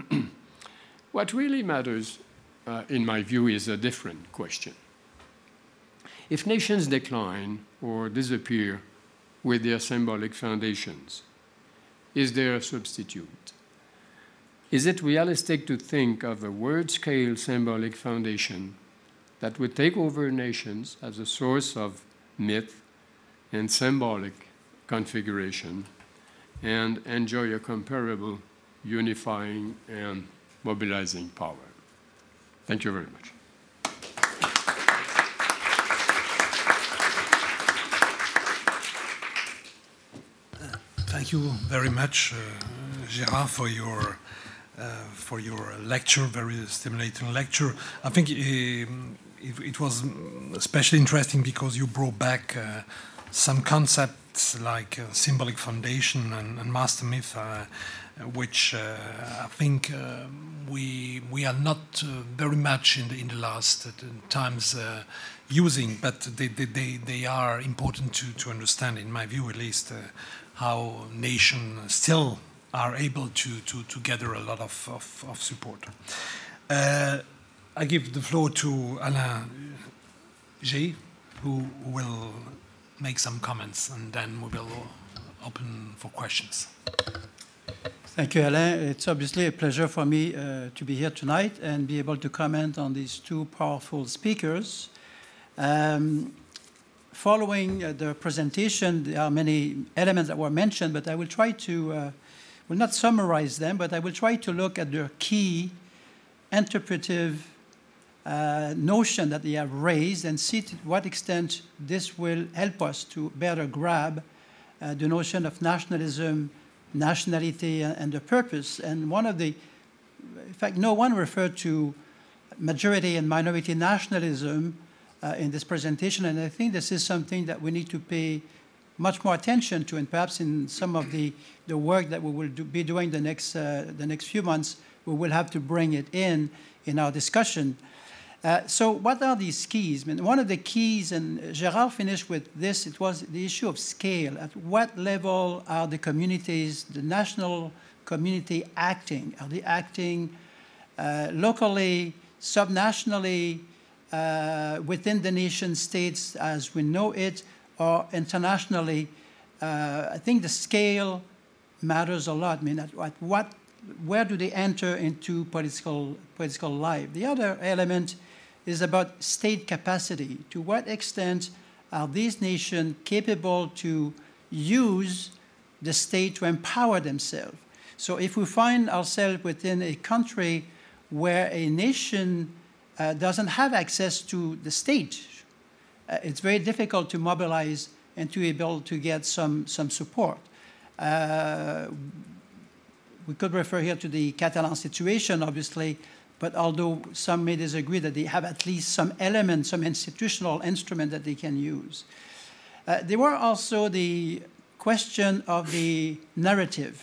What really matters, in my view, is a different question. If nations decline or disappear with their symbolic foundations? Is there a substitute? Is it realistic to think of a word-scale symbolic foundation that would take over nations as a source of myth and symbolic configuration and enjoy a comparable unifying and mobilizing power? Thank you very much. Thank you very much, Gérard, for your lecture, very stimulating lecture. I think it was especially interesting because you brought back some concepts like symbolic foundation and master myth, which I think we are not very much in the last times using, but they are important to understand, in my view at least, how nations still are able to gather a lot of support. I give the floor to Alain G, who will make some comments, and then we will open for questions. Thank you, Alain. It's obviously a pleasure for me to be here tonight and be able to comment on these two powerful speakers. Following the presentation, there are many elements that were mentioned, but I will try to, will not summarize them, but I will try to look at the key interpretive notion that they have raised and see to what extent this will help us to better grab the notion of nationalism, nationality, and the purpose. And one of the, in fact, no one referred to majority and minority nationalism in this presentation, and I think this is something that we need to pay much more attention to, and perhaps in some of the work that we will be doing the next few months, we will have to bring it in our discussion. So what are these keys? I mean, one of the keys, and Gérard finished with this, it was the issue of scale. At what level are the communities, the national community acting? Are they acting locally, subnationally, within the nation states as we know it, or internationally? I think the scale matters a lot. I mean, where do they enter into political life? The other element is about state capacity. To what extent are these nations capable to use the state to empower themselves? So if we find ourselves within a country where a nation doesn't have access to the state, it's very difficult to mobilize and to be able to get some support. We could refer here to the Catalan situation, obviously, but although some may disagree that they have at least some element, some institutional instrument that they can use. There were also the question of the narrative.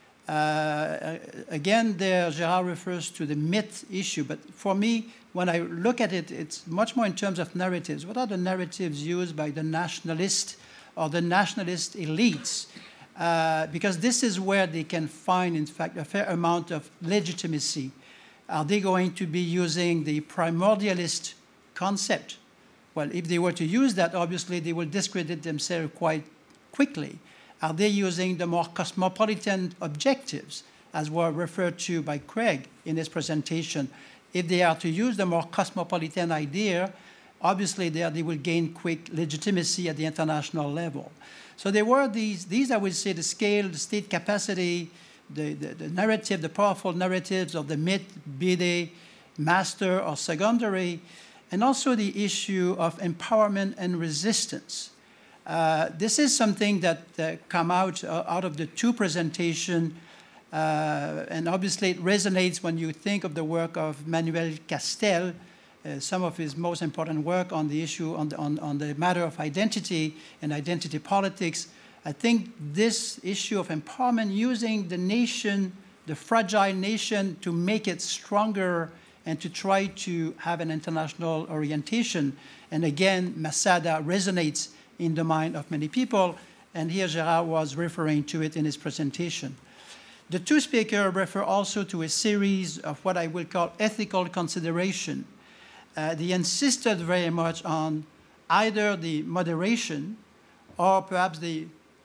Again, there, Gérard refers to the myth issue, but for me, when I look at it, it's much more in terms of narratives. What are the narratives used by the nationalist or the nationalist elites? Because this is where they can find, in fact, a fair amount of legitimacy. Are they going to be using the primordialist concept? Well, if they were to use that, obviously they will discredit themselves quite quickly. Are they using the more cosmopolitan objectives, as were referred to by Craig in his presentation? If they are to use the more cosmopolitan idea, obviously they will gain quick legitimacy at the international level. So there were these I would say, the scale, the state capacity, the narrative, the powerful narratives of the myth, be they master or secondary, and also the issue of empowerment and resistance. This is something that come out of the two presentations, and obviously it resonates when you think of the work of Manuel Castel, some of his most important work on the issue, on the matter of identity and identity politics. I think this issue of empowerment, using the nation, the fragile nation, to make it stronger and to try to have an international orientation. And again, Masada resonates in the mind of many people, and here Gérard was referring to it in his presentation. The two speakers refer also to a series of what I will call ethical consideration. They insisted very much on either the moderation or perhaps the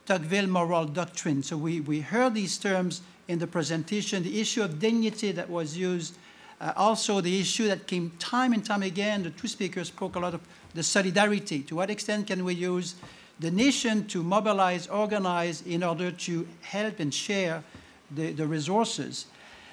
Tocqueville moral doctrine. So we heard these terms in the presentation, the issue of dignity that was used, also the issue that came time and time again. The two speakers spoke a lot of the solidarity. To what extent can we use the nation to mobilize, organize in order to help and share the resources?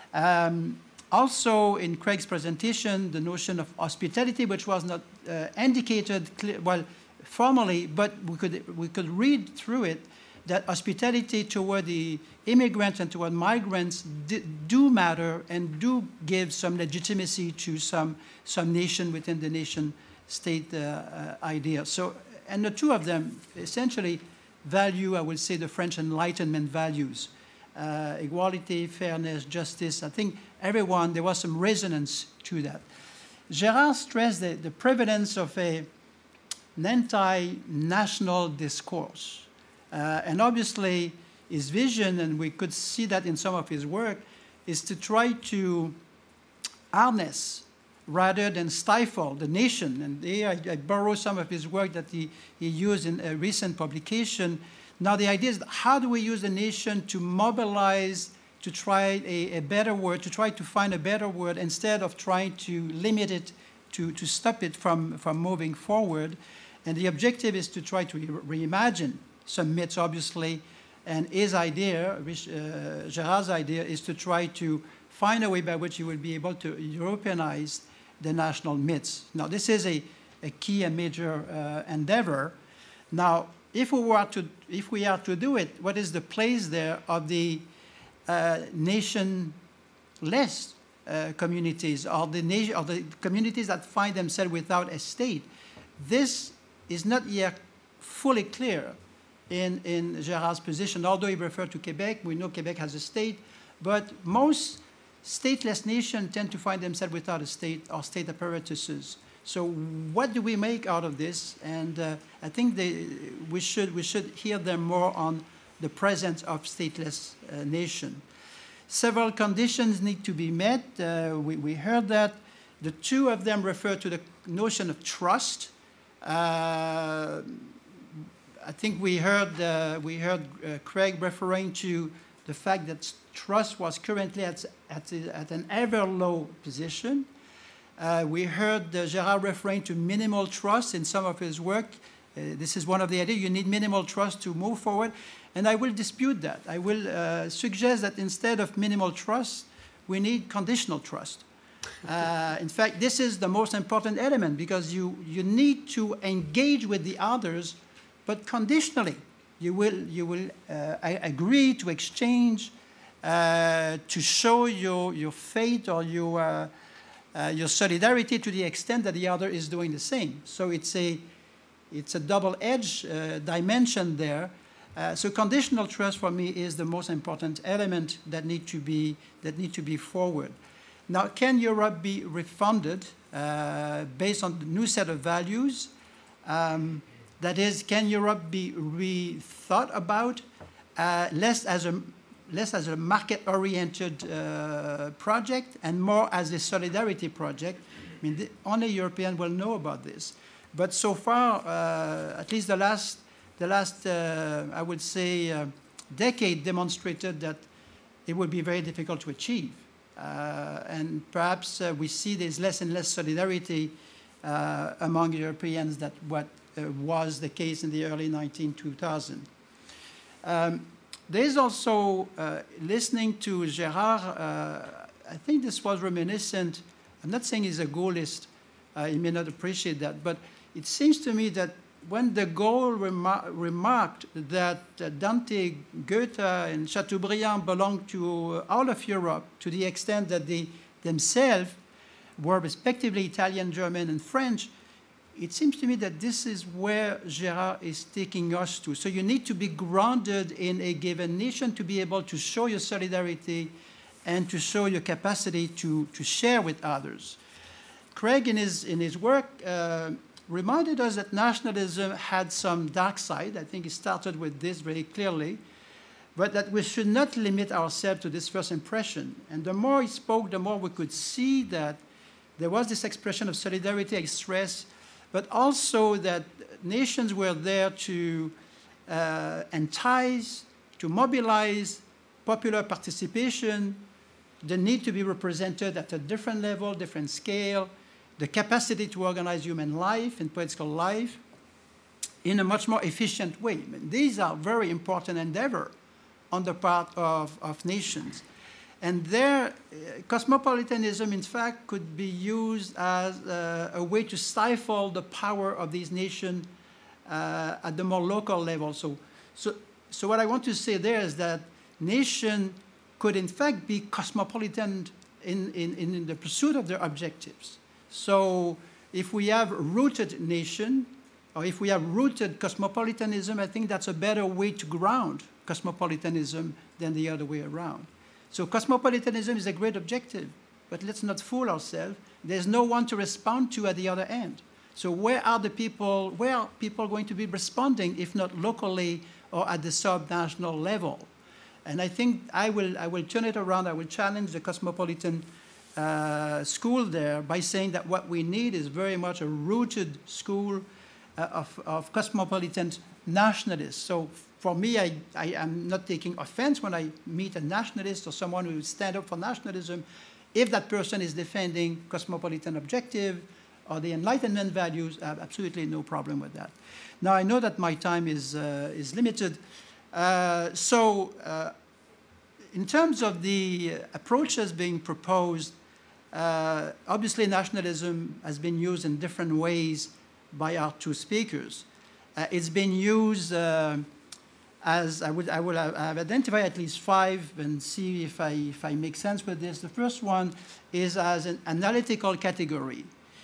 Also, in Craig's presentation, the notion of hospitality, which was not indicated formally, but we could read through it that hospitality toward the immigrants and toward migrants do matter and do give some legitimacy to some nation within the nation-state idea. So, and the two of them essentially value, I would say, the French Enlightenment values. Equality, fairness, justice. I think there was some resonance to that. Gérard stressed the prevalence of an anti-national discourse. And obviously, his vision, and we could see that in some of his work, is to try to harness rather than stifle the nation. And here I borrow some of his work that he used in a recent publication. Now the idea is, how do we use the nation to mobilize, to try a better word, to try to find a better word, instead of trying to limit it, to stop it from moving forward. And the objective is to try to reimagine some myths, obviously. And his idea, Gérard's idea, is to try to find a way by which he will be able to Europeanize the national myths. Now, this is a key and major endeavor. Now, if we are to do it, what is the place there of the nationless communities, or the communities that find themselves without a state? This is not yet fully clear in Gérard's position. Although he referred to Quebec, we know Quebec has a state, but most stateless nations tend to find themselves without a state or state apparatuses. So what do we make out of this? And I think we should hear them more on the presence of stateless nation. Several conditions need to be met. We heard that. The two of them refer to the notion of trust. I think we heard Craig referring to the fact that trust was currently at an ever low position. We heard Gérard referring to minimal trust in some of his work. This is one of the ideas. You need minimal trust to move forward. And I will dispute that. I will suggest that instead of minimal trust, we need conditional trust. In fact, this is the most important element, because you need to engage with the others, but conditionally. You will agree to exchange, to show your faith or your solidarity to the extent that the other is doing the same. So it's a double-edged dimension there. So conditional trust for me is the most important element that need to be forward. Now, can Europe be refunded based on the new set of values? That is, can Europe be rethought about less as a market-oriented project and more as a solidarity project? I mean, only Europeans will know about this. But so far, at least the last I would say, decade demonstrated that it would be very difficult to achieve. And perhaps we see there's less and less solidarity among Europeans than what was the case in the early 2000s. There's also, listening to Gérard, I think this was reminiscent. I'm not saying he's a Gaullist. He may not appreciate that. But it seems to me that when de Gaulle remarked that Dante, Goethe, and Chateaubriand belonged to all of Europe to the extent that they themselves were respectively Italian, German, and French, it seems to me that this is where Gérard is taking us to. So you need to be grounded in a given nation to be able to show your solidarity and to show your capacity to share with others. Craig, in his work, reminded us that nationalism had some dark side. I think he started with this very clearly, but that we should not limit ourselves to this first impression. And the more he spoke, the more we could see that there was this expression of solidarity expressed, but also that nations were there to and ties, to mobilize popular participation, the need to be represented at a different level, different scale, the capacity to organize human life and political life in a much more efficient way. These are very important endeavors on the part of nations. And their cosmopolitanism, in fact, could be used as a way to stifle the power of these nations at the more local level. So what I want to say there is that nation could, in fact, be cosmopolitan in the pursuit of their objectives. So if we have rooted nation, or if we have rooted cosmopolitanism, I think that's a better way to ground cosmopolitanism than the other way around. So cosmopolitanism is a great objective, but let's not fool ourselves. There's no one to respond to at the other end. So where are people going to be responding, if not locally or at the sub-national level? And I think I will turn it around. I will challenge the cosmopolitan school there by saying that what we need is very much a rooted school of cosmopolitan nationalists. So for me, I am not taking offense when I meet a nationalist or someone who will stand up for nationalism if that person is defending cosmopolitan objective or the Enlightenment values. I have absolutely no problem with that. Now, I know that my time is limited. In terms of the approaches being proposed, obviously nationalism has been used in different ways by our two speakers. It's been used as I will have identified at least 5 and see if I make sense with this. The first one is as an analytical category.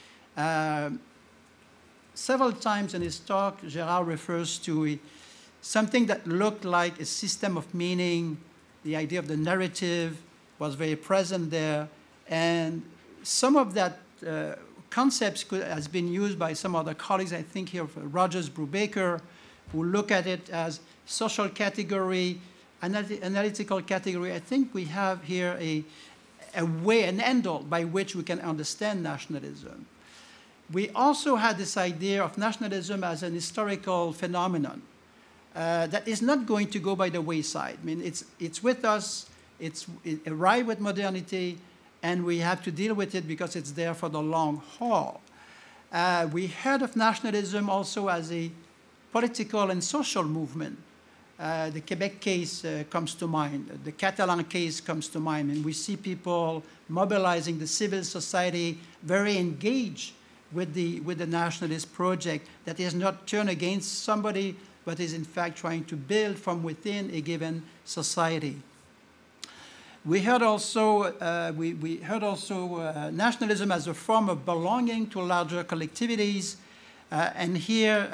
Several times in his talk, Gérard refers to something that looked like a system of meaning. The idea of the narrative was very present there. And some of that concepts has been used by some other colleagues, I think here of Rogers Brubaker, who look at it as social category, analytical category. I think we have here a way, an handle by which we can understand nationalism. We also had this idea of nationalism as an historical phenomenon that is not going to go by the wayside. I mean, it's with us, it arrived with modernity, and we have to deal with it because it's there for the long haul. We heard of nationalism also as a political and social movement. The Quebec case comes to mind. The Catalan case comes to mind. And we see people mobilizing the civil society, very engaged with the nationalist project that is not turned against somebody, but is in fact trying to build from within a given society. We heard also, nationalism as a form of belonging to larger collectivities. And here,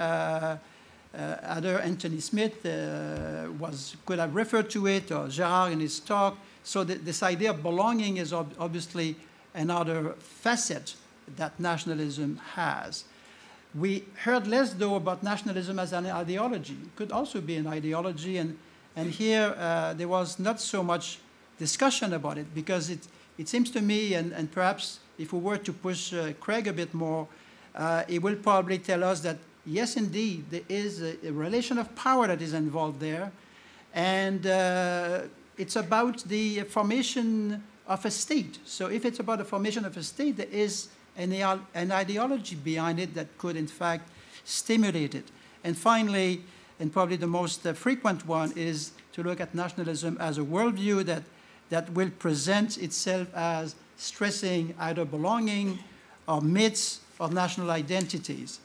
either Anthony Smith could have referred to it, or Gérard in his talk. So this idea of belonging is obviously another facet that nationalism has. We heard less, though, about nationalism as an ideology. It could also be an ideology, and here there was not so much discussion about it, because it seems to me, and perhaps if we were to push Craig a bit more, he will probably tell us that yes, indeed, there is a relation of power that is involved there, and it's about the formation of a state. So if it's about the formation of a state, there is an ideology behind it that could, in fact, stimulate it. And finally, and probably the most frequent one, is to look at nationalism as a worldview that will present itself as stressing either belonging or myths or national identities.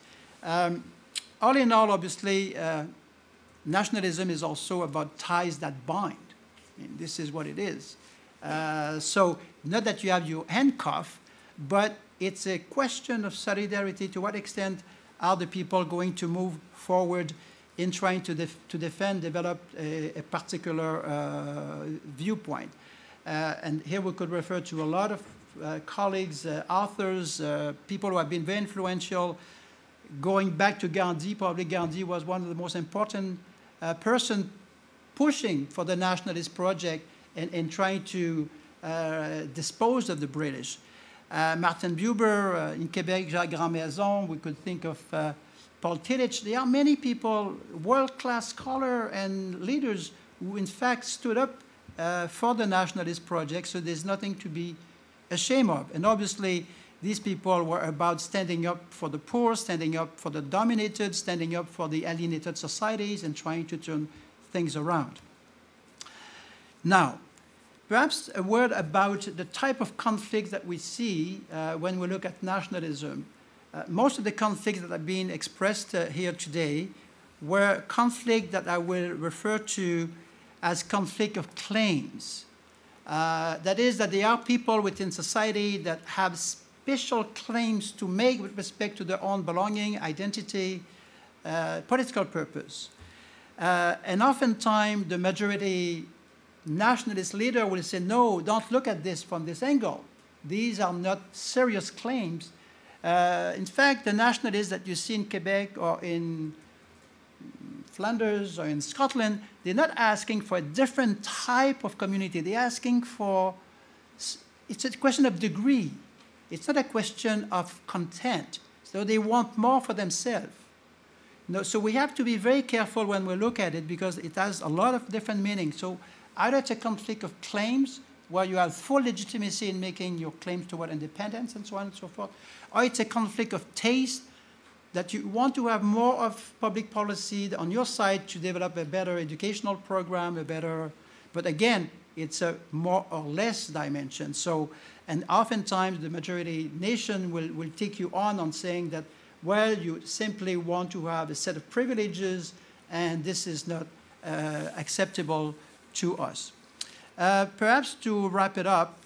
All in all, obviously, nationalism is also about ties that bind. I mean, this is what it is. So not that you have your handcuff, but it's a question of solidarity. To what extent are the people going to move forward in trying to develop a particular viewpoint? And here we could refer to a lot of colleagues, authors, people who have been very influential. Going back to Gandhi, probably Gandhi was one of the most important person pushing for the nationalist project and trying to dispose of the British. Martin Buber, in Quebec, Jacques Grandmaison. We could think of Paul Tillich. There are many people, world-class scholars and leaders who in fact stood up for the nationalist project, so there's nothing to be ashamed of. And obviously, these people were about standing up for the poor, standing up for the dominated, standing up for the alienated societies, and trying to turn things around. Now, perhaps a word about the type of conflict that we see when we look at nationalism. Most of the conflicts that have been expressed here today were conflicts that I will refer to as conflict of claims. That is, that there are people within society that have special claims to make with respect to their own belonging, identity, political purpose. And oftentimes the majority nationalist leader will say, no, don't look at this from this angle. These are not serious claims. In fact, the nationalists that you see in Quebec or in Flanders or in Scotland, they're not asking for a different type of community. They're asking for, it's a question of degree. It's not a question of content. So they want more for themselves. No, so we have to be very careful when we look at it because it has a lot of different meanings. So either it's a conflict of claims where you have full legitimacy in making your claims toward independence and so on and so forth, or it's a conflict of taste that you want to have more of public policy on your side to develop a better educational program, but again, it's a more or less dimension. So, and oftentimes the majority nation will take you on saying that, well, you simply want to have a set of privileges and this is not acceptable to us. Perhaps to wrap it up,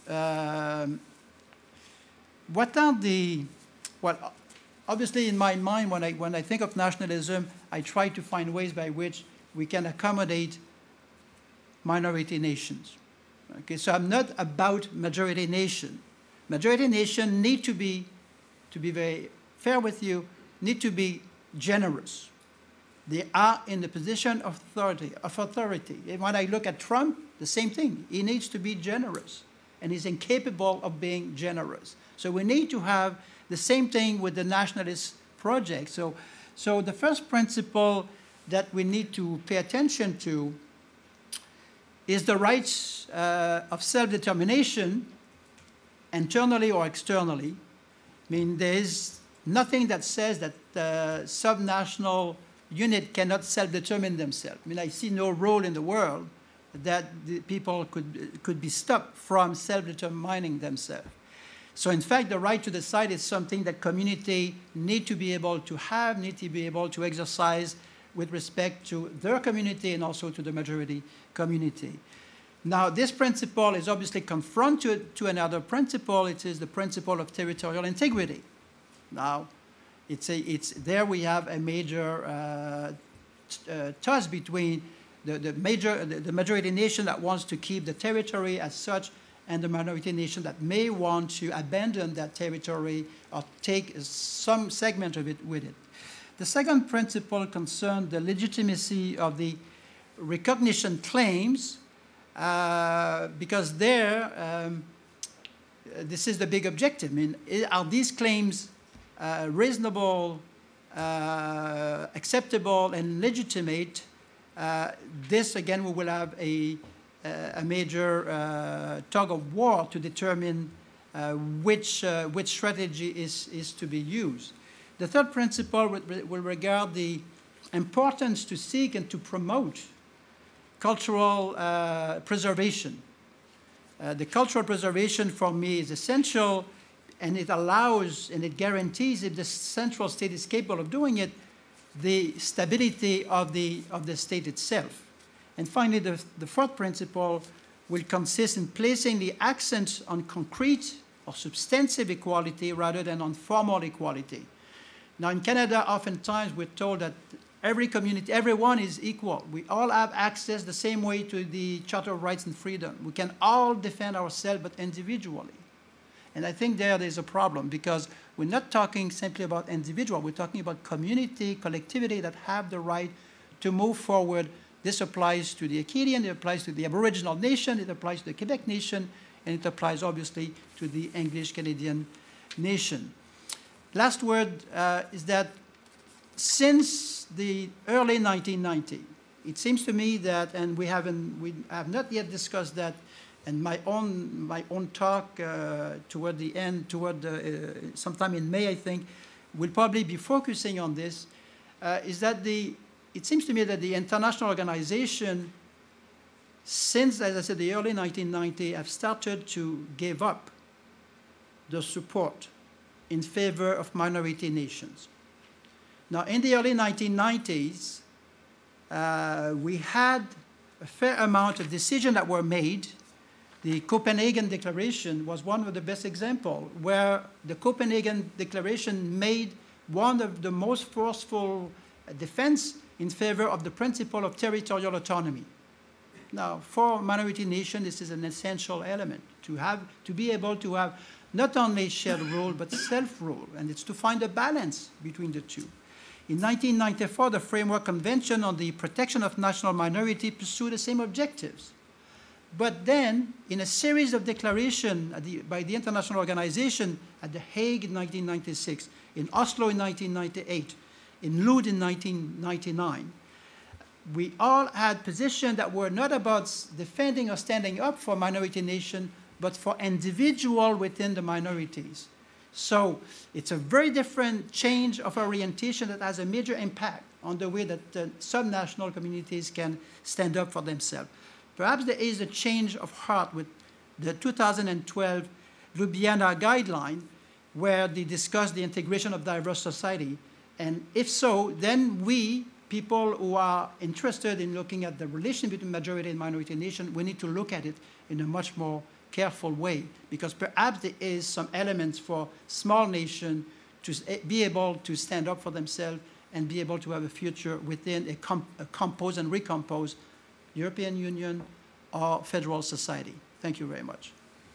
what are the, well, obviously in my mind when I think of nationalism, I try to find ways by which we can accommodate minority nations. Okay, so I'm not about majority nation. Majority nation need to be very fair with you, need to be generous. They are in the position of authority. And when I look at Trump, the same thing. He needs to be generous, and he's incapable of being generous. So we need to have the same thing with the nationalist project. So the first principle that we need to pay attention to is the rights of self-determination, internally or externally. I mean, there is nothing that says that subnational unit cannot self-determine themselves. I mean, I see no role in the world that the people could be stopped from self-determining themselves. So in fact, the right to decide is something that community need to be able to have, need to be able to exercise with respect to their community and also to the majority community. Now, this principle is obviously confronted to another principle. It is the principle of territorial integrity. Now, there we have a major toss between the majority nation that wants to keep the territory as such and the minority nation that may want to abandon that territory or take some segment of it with it. The second principle concerns the legitimacy of the recognition claims because this is the big objective. I mean, are these claims reasonable, acceptable, and legitimate? This, again, we will have a major tug of war to determine which strategy is to be used. The third principle will regard the importance to seek and to promote cultural preservation. The cultural preservation for me is essential, and it allows and it guarantees, if the central state is capable of doing it, the stability of the state itself. And finally, the fourth principle will consist in placing the accent on concrete or substantive equality rather than on formal equality. Now, in Canada, oftentimes we're told that every community, everyone is equal. We all have access the same way to the Charter of Rights and Freedom. We can all defend ourselves, but individually. And I think there's a problem because we're not talking simply about individual. We're talking about community, collectivity that have the right to move forward. This applies to the Acadian, it applies to the Aboriginal nation, it applies to the Quebec nation, and it applies obviously to the English Canadian nation. Last word is that since the early 1990s, it seems to me that, and we have not yet discussed that, and my own talk toward the end, sometime in May, I think, will probably be focusing on this, is that it seems to me that the international organization, since, as I said, the early 1990s, have started to give up the support in favor of minority nations. Now, in the early 1990s, we had a fair amount of decisions that were made. The Copenhagen Declaration was one of the best examples, where the Copenhagen Declaration made one of the most forceful defense in favor of the principle of territorial autonomy. Now, for minority nations, this is an essential element, to be able to have not only shared rule, but self-rule, and it's to find a balance between the two. In 1994, the Framework Convention on the Protection of National Minorities pursued the same objectives. But then, in a series of declarations by the international organization at The Hague in 1996, in Oslo in 1998, in Lund in 1999, we all had positions that were not about defending or standing up for minority nations, but for individuals within the minorities. So it's a very different change of orientation that has a major impact on the way that subnational communities can stand up for themselves. Perhaps there is a change of heart with the 2012 Ljubljana guideline, where they discuss the integration of diverse society. And if so, then we, people who are interested in looking at the relation between majority and minority nation, we need to look at it in a much more careful way, because perhaps there is some elements for small nations to be able to stand up for themselves and be able to have a future within a composed and recomposed European Union or federal society. Thank you very much.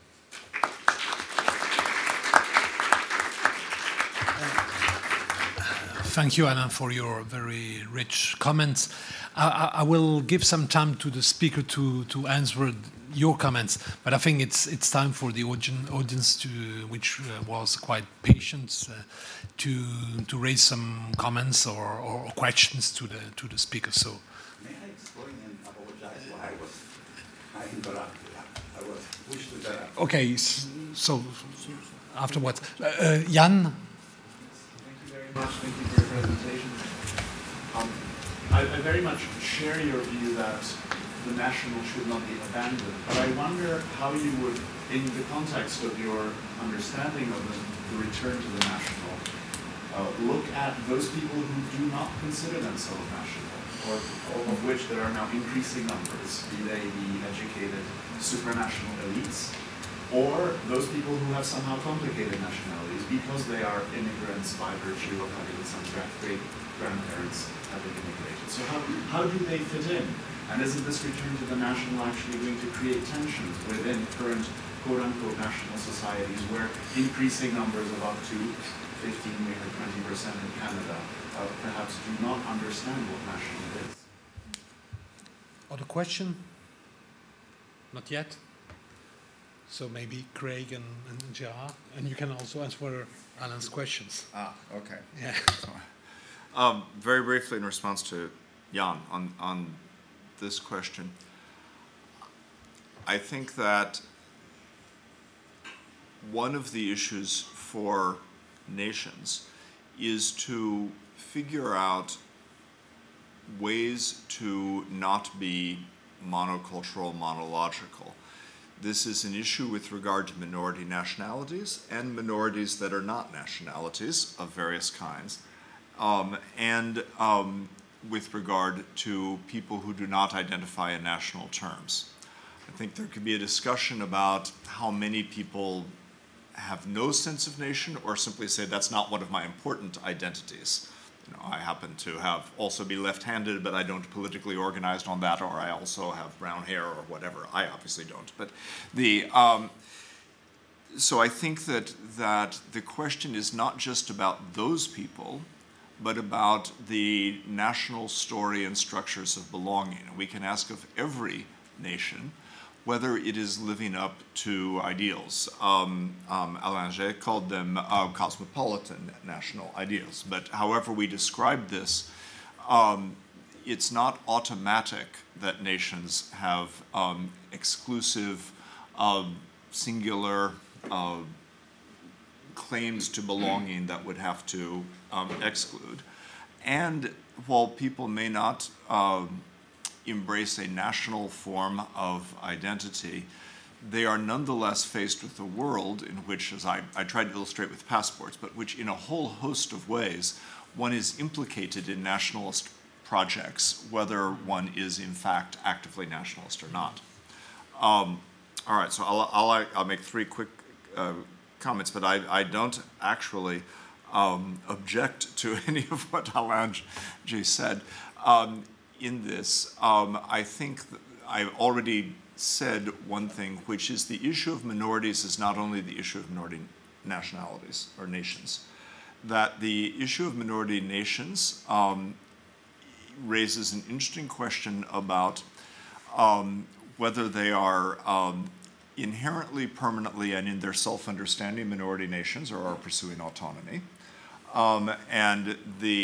Thank you, Alain, for your very rich comments. I will give some time to the speaker to answer your comments, but I think it's time for the audience, which was quite patient, to raise some comments or questions to the speaker. So, may I explain and apologize why I interrupted? I was pushed to interrupt. Okay, so afterwards, Jan. Thank you for your presentation. I very much share your view that the national should not be abandoned, but I wonder how you would, in the context of your understanding of the return to the national, look at those people who do not consider themselves national, or of which there are now increasing numbers, be they the educated supranational elites, or those people who have somehow complicated nationalities because they are immigrants by virtue of having some great-grandparents having immigrated. So how do they fit in? And isn't this return to the national actually going to create tensions within current quote-unquote national societies where increasing numbers of up to 15, maybe 20% in Canada perhaps do not understand what national is? Other question? Not yet? So maybe Craig and Gerard, and you can also answer Alain's questions. Okay. Yeah. Very briefly in response to Jan on this question, I think that one of the issues for nations is to figure out ways to not be monocultural, monological. This is an issue with regard to minority nationalities and minorities that are not nationalities of various kinds, and with regard to people who do not identify in national terms. I think there could be a discussion about how many people have no sense of nation or simply say that's not one of my important identities. You know, I happen to have also be left-handed, but I don't politically organized on that, or I also have brown hair or whatever. I obviously don't. But so I think that the question is not just about those people, but about the national story and structures of belonging. We can ask of every nation, whether it is living up to ideals. Alain Gé called them cosmopolitan national ideals. But however we describe this, it's not automatic that nations have exclusive, singular claims to belonging that would have to exclude. And while people may not embrace a national form of identity, they are nonetheless faced with a world in which, as I tried to illustrate with passports, but which in a whole host of ways, one is implicated in nationalist projects, whether one is in fact actively nationalist or not. All right, so I'll make three quick comments, but I don't actually object to any of what Alain Gé said. In this, I think I've already said one thing, which is the issue of minorities is not only the issue of minority nationalities or nations, that the issue of minority nations raises an interesting question about whether they are inherently, permanently, and in their self-understanding minority nations or are pursuing autonomy. And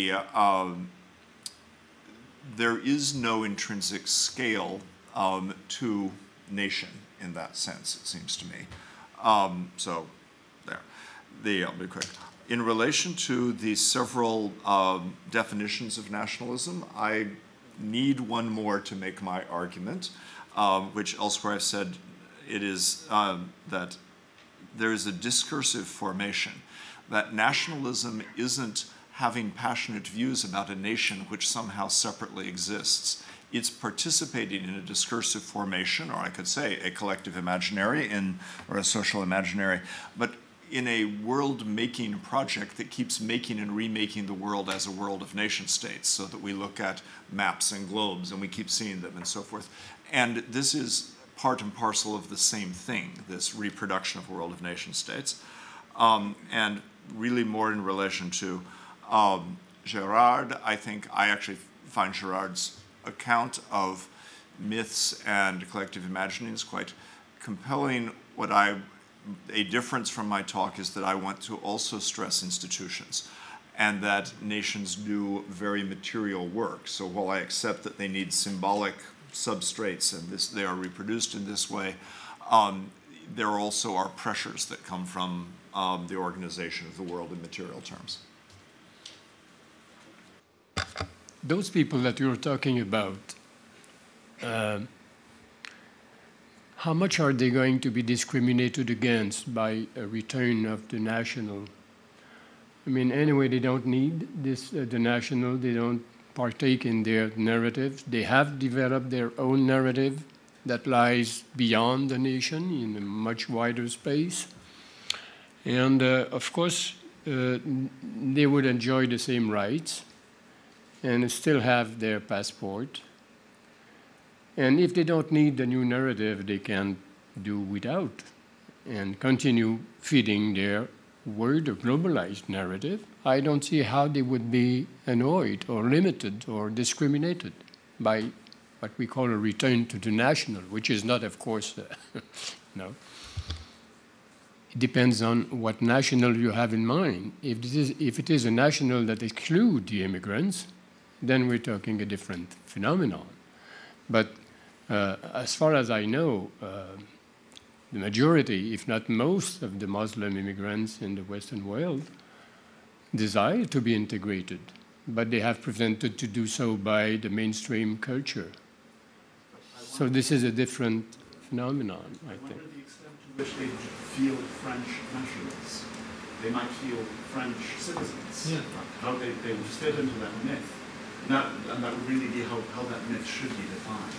there is no intrinsic scale to nation in that sense, it seems to me. So there. I'll be quick. In relation to the several definitions of nationalism, I need one more to make my argument, which elsewhere I've said it is that there is a discursive formation, that nationalism isn't having passionate views about a nation which somehow separately exists. It's participating in a discursive formation, or I could say a collective imaginary or a social imaginary, but in a world-making project that keeps making and remaking the world as a world of nation states, so that we look at maps and globes and we keep seeing them and so forth. And this is part and parcel of the same thing, this reproduction of a world of nation states. And really more in relation to Girard, I think I actually find Girard's account of myths and collective imaginings quite compelling. A difference from my talk is that I want to also stress institutions, and that nations do very material work. So while I accept that they need symbolic substrates and they are reproduced in this way, there also are pressures that come from the organization of the world in material terms. Those people that you're talking about, how much are they going to be discriminated against by a return of the national? I mean, anyway, they don't need the national, they don't partake in their narrative. They have developed their own narrative that lies beyond the nation in a much wider space. And of course, they would enjoy the same rights and still have their passport. And if they don't need the new narrative, they can do without and continue feeding their word or globalized narrative. I don't see how they would be annoyed or limited or discriminated by what we call a return to the national, which is not, of course, no. It depends on what national you have in mind. If it is a national that excludes the immigrants, then we're talking a different phenomenon. But as far as I know, the majority, if not most, of the Muslim immigrants in the Western world desire to be integrated, but they have prevented to do so by the mainstream culture. So this is a different phenomenon, I think. I wonder the extent to which they feel French nationals. They might feel French citizens. Yeah. How they would fit into that myth. And that would really be how that myth should be defined,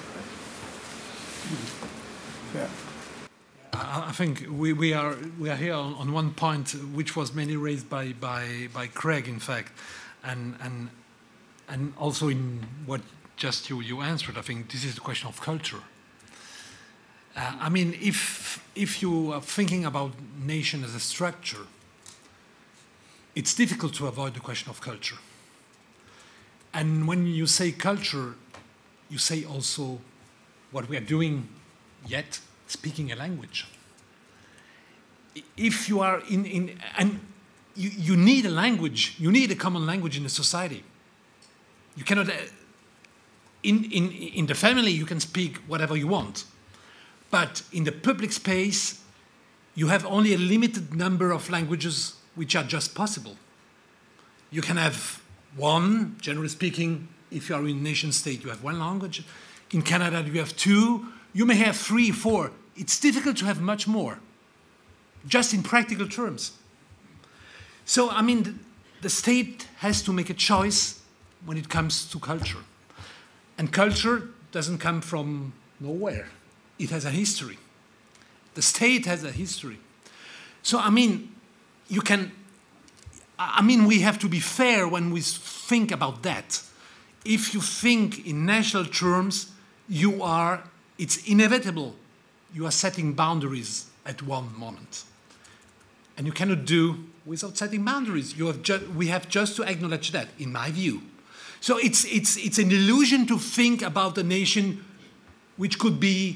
right? Yeah. I think we are here on one point, which was mainly raised by Craig, in fact, and also in what just you answered. I think this is the question of culture. I mean, if you are thinking about nation as a structure, it's difficult to avoid the question of culture. And when you say culture, you say also what we are doing yet speaking a language. If you are and you need a language, you need a common language in a society. You cannot, in the family you can speak whatever you want, but in the public space you have only a limited number of languages which are just possible. You can have one, generally speaking, if you are in a nation state, you have one language. In Canada, you have two. You may have 3, 4. It's difficult to have much more, just in practical terms. So, I mean, the state has to make a choice when it comes to culture. And culture doesn't come from nowhere. It has a history. The state has a history. So, I mean, we have to be fair when we think about that. If you think in national terms, it's inevitable. You are setting boundaries at one moment. And you cannot do without setting boundaries. We have just to acknowledge that, in my view. So it's an illusion to think about a nation which could be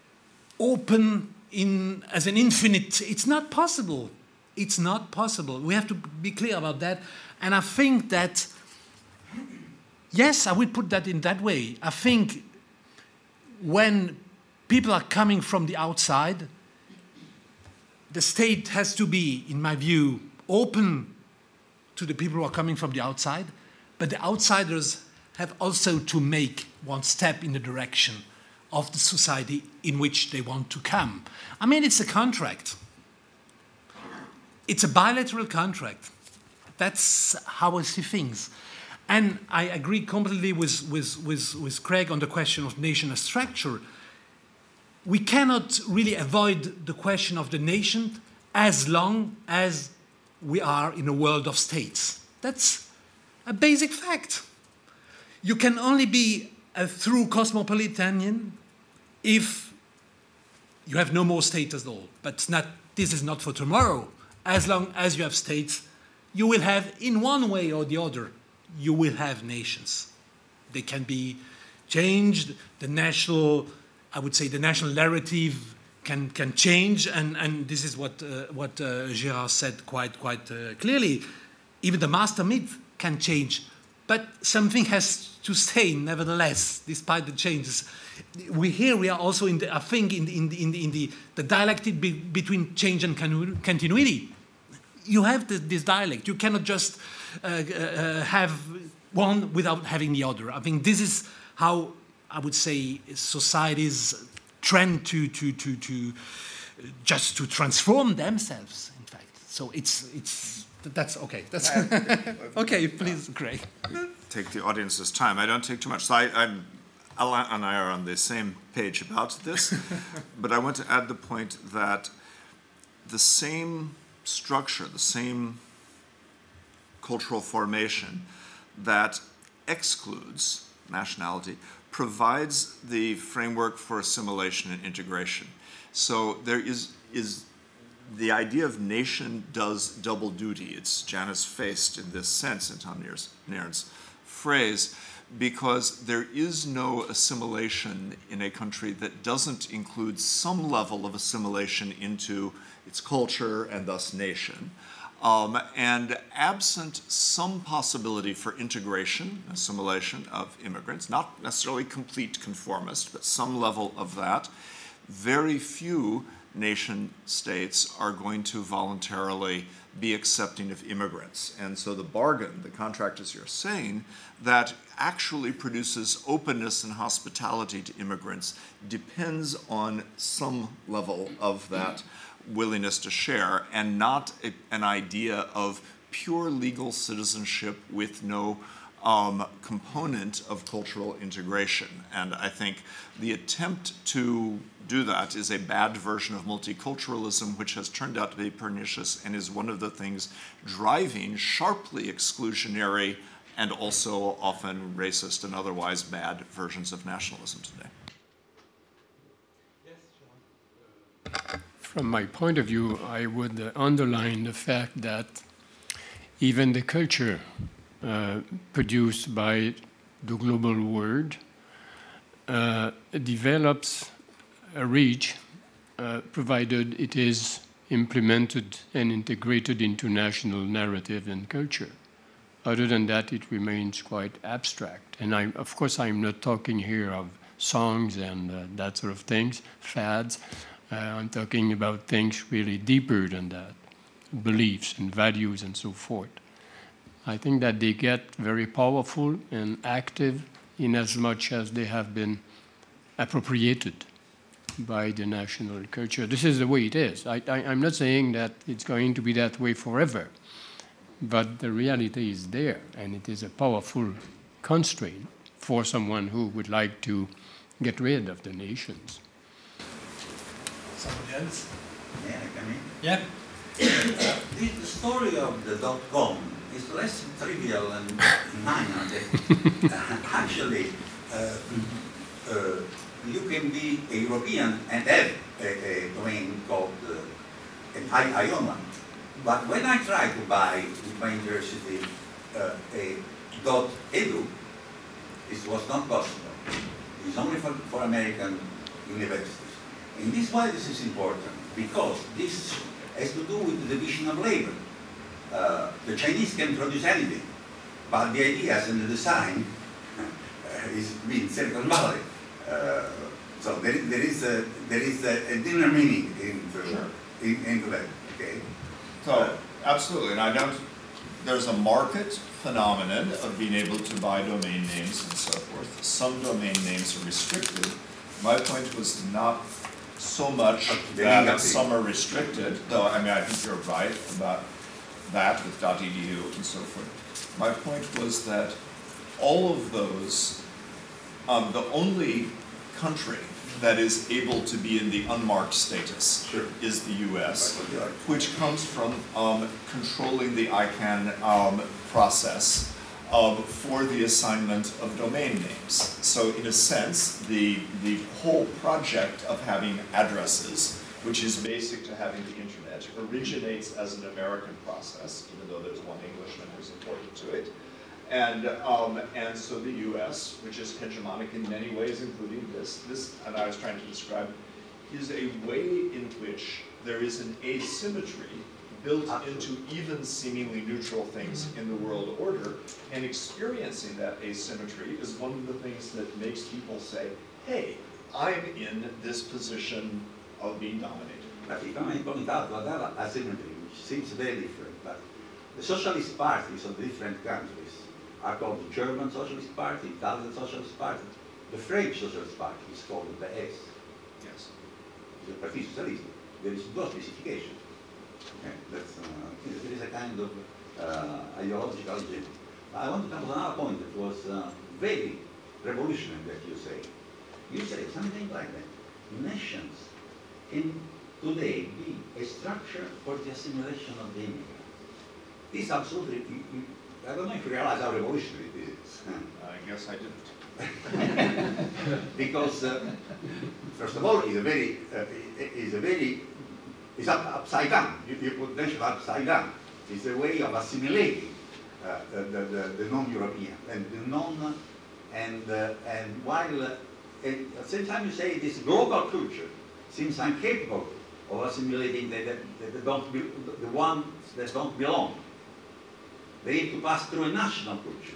open as an infinite. It's not possible. It's not possible. We have to be clear about that. And I think that, yes, I would put that in that way. I think when people are coming from the outside, the state has to be, in my view, open to the people who are coming from the outside, but the outsiders have also to make one step in the direction of the society in which they want to come. I mean, it's a contract. It's a bilateral contract. That's how I see things. And I agree completely with Craig on the question of nation as structure. We cannot really avoid the question of the nation as long as we are in a world of states. That's a basic fact. You can only be a true cosmopolitan if you have no more state at all. But this is not for tomorrow. As long as you have states, you will have, in one way or the other, you will have nations. They can be changed. The national narrative can change, and this is what Gérard said quite clearly. Even the master myth can change, but something has to stay nevertheless, despite the changes. We are also in the dialectic between change and continuity. You have this dialect. You cannot just have one without having the other. I think this is how I would say societies trend to just to transform themselves. In fact, so that's okay. That's okay. Please, Craig. Take the audience's time. I don't take too much. So Alain and I are on the same page about this, but I want to add the point that the same structure, the same cultural formation that excludes nationality provides the framework for assimilation and integration. So there is the idea of nation does double duty. It's Janus faced in this sense, in Tom Nairn's phrase, because there is no assimilation in a country that doesn't include some level of assimilation into its culture and thus nation. And absent some possibility for integration, assimilation of immigrants, not necessarily complete conformist, but some level of that, very few nation states are going to voluntarily be accepting of immigrants. And so the bargain, the contract, as you're saying, that actually produces openness and hospitality to immigrants depends on some level of that willingness to share, and not an idea of pure legal citizenship with no component of cultural integration. And I think the attempt to do that is a bad version of multiculturalism, which has turned out to be pernicious and is one of the things driving sharply exclusionary and also often racist and otherwise bad versions of nationalism today. From my point of view, I would underline the fact that even the culture produced by the global world develops a reach provided it is implemented and integrated into national narrative and culture. Other than that, it remains quite abstract. And of course, I'm not talking here of songs and that sort of things, fads. I'm talking about things really deeper than that, beliefs and values and so forth. I think that they get very powerful and active in as much as they have been appropriated by the national culture. This is the way it is. I'm not saying that it's going to be that way forever, but the reality is there, and it is a powerful constraint for someone who would like to get rid of the nations. Somebody else? Yeah, I mean, Yeah. the story of the .com is less trivial and minor. Actually, you can be a European and have a domain called, and I own one. But when I tried to buy with my university a .edu, it was not possible. It's only for American universities. And this is why this is important, because this has to do with the division of labor. The Chinese can produce anything, but the ideas and the design is in Silicon Valley. So there is a dinner meaning into that. Okay. So, absolutely, and there's a market phenomenon of being able to buy domain names and so forth. Some domain names are restricted. My point was not so much that some are restricted, though I think you're right about that with .edu and so forth. My point was that all of those, the only country that is able to be in the unmarked status is the US, which comes from controlling the ICANN process for the assignment of domain names. So in a sense, the whole project of having addresses, which is basic to having the internet, originates as an American process, even though there's one Englishman who's important to it. And so the U.S., which is hegemonic in many ways, including this, and I was trying to describe, is a way in which there is an asymmetry built into even seemingly neutral things in the world order, and experiencing that asymmetry is one of the things that makes people say, hey, I'm in this position of being dominated. But if I may point out that asymmetry, which seems very different, but the socialist parties of different countries are called the German Socialist Party, Italian Socialist Party. The French Socialist Party is called the PS. Yes. The Parti Socialiste. There is no specification. Okay. There is a kind of ideological agenda. I want to come to another point that was very revolutionary that you say. You say something like that. Nations can today be a structure for the assimilation of the immigrants. This absolutely, I don't know if you realize how revolutionary this is. I guess I didn't. Because, first of all, it's upside down. You put nation upside down. It's a way of assimilating the non-European and while at the same time you say this global culture seems incapable of assimilating the ones that don't belong. They need to pass through a national culture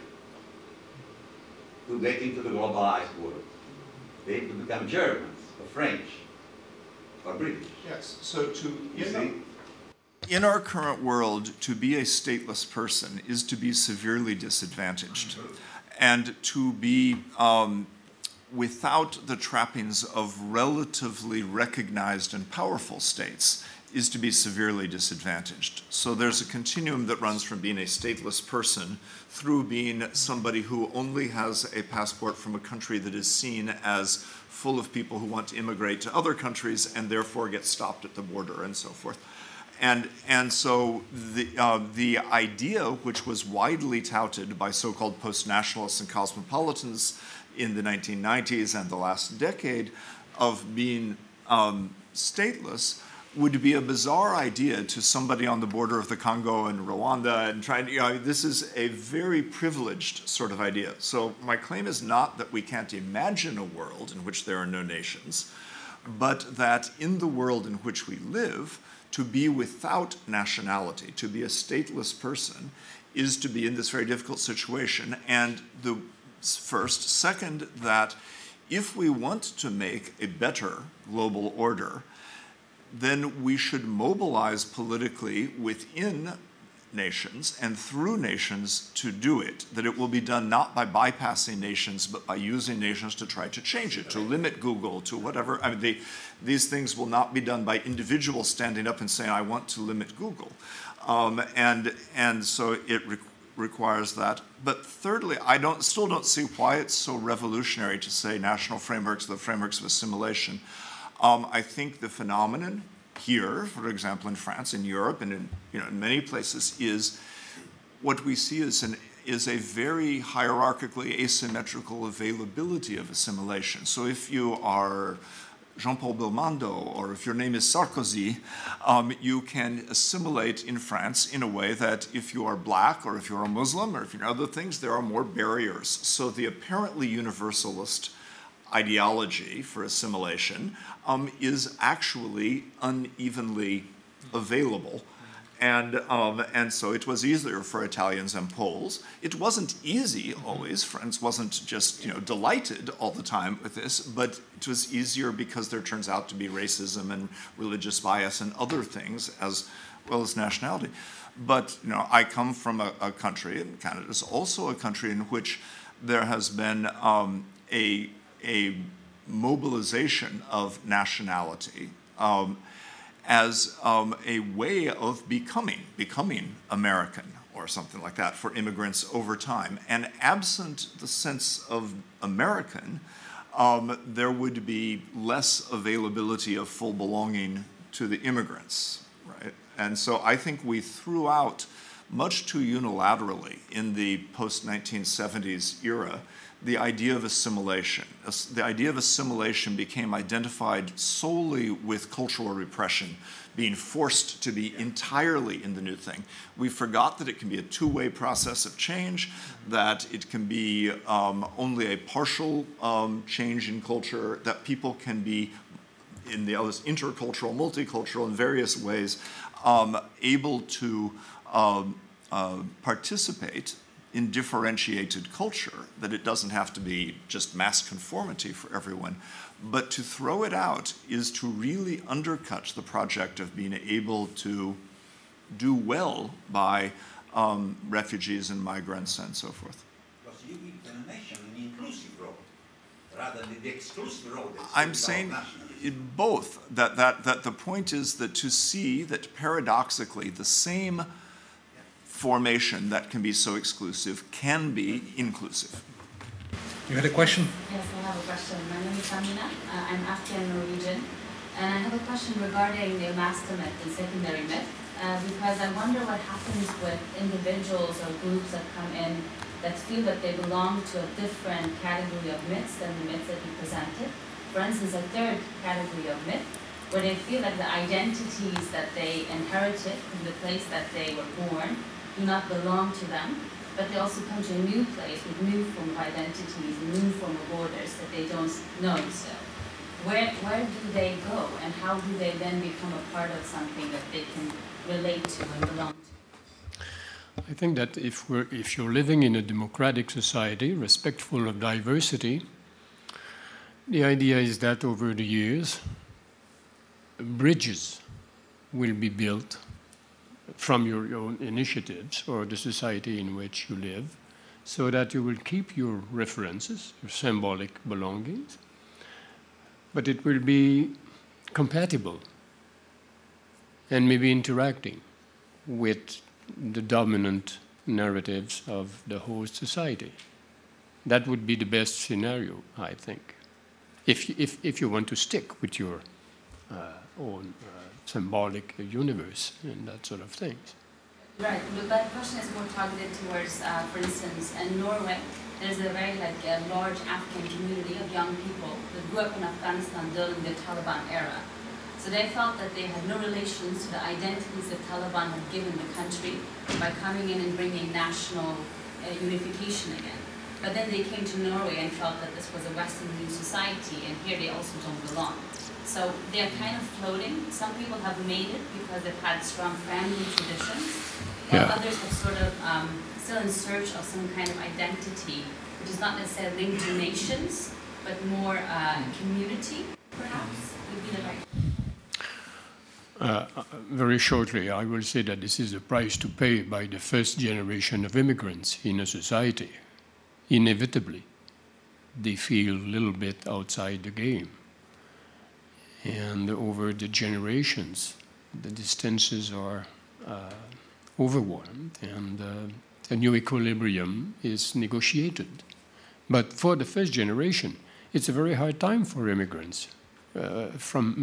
to get into the globalized world. They need to become Germans or French or British. Yes, so in our current world, to be a stateless person is to be severely disadvantaged. And to be without the trappings of relatively recognized and powerful states is to be severely disadvantaged. So there's a continuum that runs from being a stateless person through being somebody who only has a passport from a country that is seen as full of people who want to immigrate to other countries and therefore get stopped at the border and so forth. And so the idea, which was widely touted by so-called post-nationalists and cosmopolitans in the 1990s and the last decade, of being stateless, would be a bizarre idea to somebody on the border of the Congo and Rwanda and trying to, this is a very privileged sort of idea. So my claim is not that we can't imagine a world in which there are no nations, but that in the world in which we live, to be without nationality, to be a stateless person, is to be in this very difficult situation. And the first. Second, that if we want to make a better global order, then we should mobilize politically within nations and through nations to do it, that it will be done not by bypassing nations, but by using nations to try to change it, to limit Google, to whatever. I mean, these things will not be done by individuals standing up and saying, I want to limit Google. And so it requires that. But thirdly, I still don't see why it's so revolutionary to say national frameworks, the frameworks of assimilation. I think the phenomenon here, for example, in France, in Europe, and in many places, is what we see is a very hierarchically asymmetrical availability of assimilation. So if you are Jean-Paul Belmondo, or if your name is Sarkozy, you can assimilate in France in a way that if you are black, or if you're a Muslim, or if you're other things, there are more barriers. So the apparently universalist ideology for assimilation is actually unevenly available. And so it was easier for Italians and Poles. It wasn't easy always. France wasn't just delighted all the time with this, but it was easier because there turns out to be racism and religious bias and other things as well as nationality. But I come from a country, and Canada is also a country in which there has been a mobilization of nationality as a way of becoming American or something like that for immigrants over time. And absent the sense of American, there would be less availability of full belonging to the immigrants, right? And so I think we threw out, much too unilaterally in the post-1970s era, the idea of assimilation. The idea of assimilation became identified solely with cultural repression, being forced to be entirely in the new thing. We forgot that it can be a two-way process of change, that it can be only a partial change in culture, that people can be in the intercultural, multicultural, in various ways, able to participate in differentiated culture, that it doesn't have to be just mass conformity for everyone. But to throw it out is to really undercut the project of being able to do well by refugees and migrants and so forth. Because you give the nation an inclusive role, rather than the exclusive role. I'm saying both. That the point is that to see that paradoxically the same formation that can be so exclusive can be inclusive. You had a question? Yes, I have a question. My name is Samina. I'm Afghan-Norwegian. And I have a question regarding the master myth and secondary myth, because I wonder what happens with individuals or groups that come in that feel that they belong to a different category of myths than the myths that you presented. For instance, a third category of myth, where they feel that the identities that they inherited from the place that they were born do not belong to them, but they also come to a new place with new form of identities, new form of borders that they don't know still. Where do they go, and how do they then become a part of something that they can relate to and belong to? I think that if you're living in a democratic society, respectful of diversity, the idea is that over the years, bridges will be built from your own initiatives or the society in which you live, so that you will keep your references, your symbolic belongings, but it will be compatible and maybe interacting with the dominant narratives of the host society. That would be the best scenario, I think, if you want to stick with your own symbolic universe and that sort of things. Right, but my question is more targeted towards, for instance, in Norway, there's a very large Afghan community of young people that grew up in Afghanistan during the Taliban era. So they felt that they had no relations to the identities that Taliban had given the country by coming in and bringing national unification again. but then they came to Norway and felt that this was a Western new society, and here they also don't belong. So they're kind of floating. Some people have made it because they've had strong family traditions, while others have sort of still in search of some kind of identity, which is not necessarily linked to nations, but more community, perhaps, would be the right. Very shortly, I will say that this is a price to pay by the first generation of immigrants in a society. Inevitably, they feel a little bit outside the game. And over the generations, the distances are overwhelmed, and a new equilibrium is negotiated. But for the first generation, it's a very hard time for immigrants from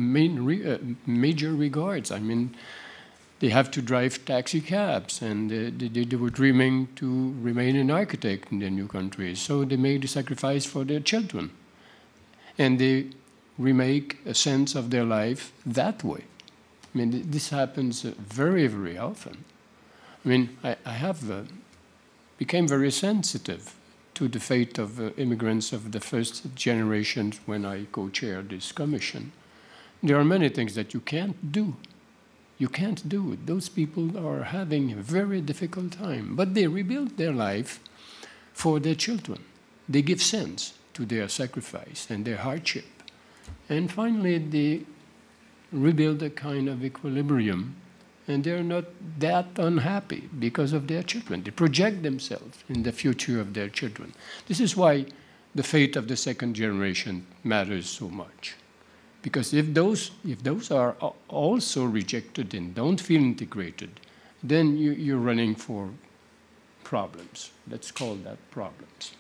major regards. I mean, they have to drive taxi cabs, and they were dreaming to remain an architect in their new country. So they made a sacrifice for their children. And they remake a sense of their life that way. I mean, this happens very, very often. I mean, I have became very sensitive to the fate of immigrants of the first generation when I co-chaired this commission. There are many things that you can't do. You can't do it. Those people are having a very difficult time, but they rebuild their life for their children. They give sense to their sacrifice and their hardship. And finally, they rebuild a kind of equilibrium, and they're not that unhappy because of their children. They project themselves in the future of their children. This is why the fate of the second generation matters so much. Because if those are also rejected and don't feel integrated, then you're running for problems. Let's call that problems.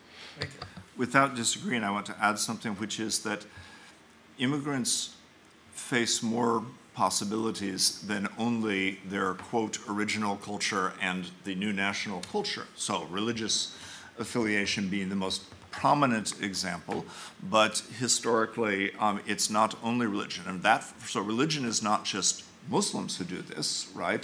Without disagreeing, I want to add something, which is that immigrants face more possibilities than only their, quote, original culture and the new national culture. So religious affiliation being the most prominent example, but historically it's not only religion. And so religion is not just Muslims who do this, right?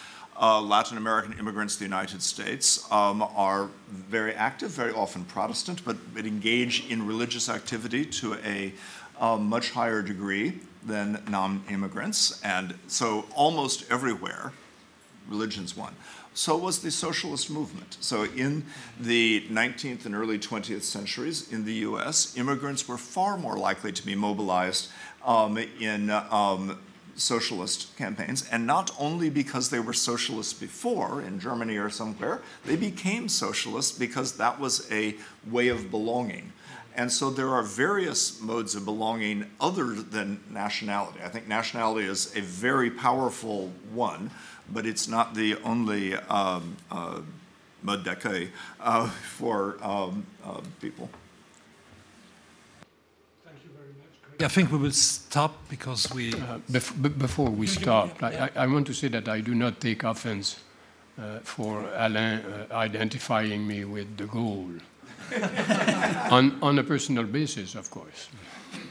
Latin American immigrants to the United States are very active, very often Protestant, but engage in religious activity to a much higher degree than non-immigrants. And so almost everywhere, religion's one. So was the socialist movement. So in the 19th and early 20th centuries in the US, immigrants were far more likely to be mobilized in socialist campaigns, and not only because they were socialists before in Germany or somewhere, they became socialists because that was a way of belonging. And so there are various modes of belonging other than nationality. I think nationality is a very powerful one, but it's not the only mode d'accueil for people. Thank you very much. I think we will stop because we... Before we stop, I want to say that I do not take offense for Alain identifying me with de Gaulle. on a personal basis, of course.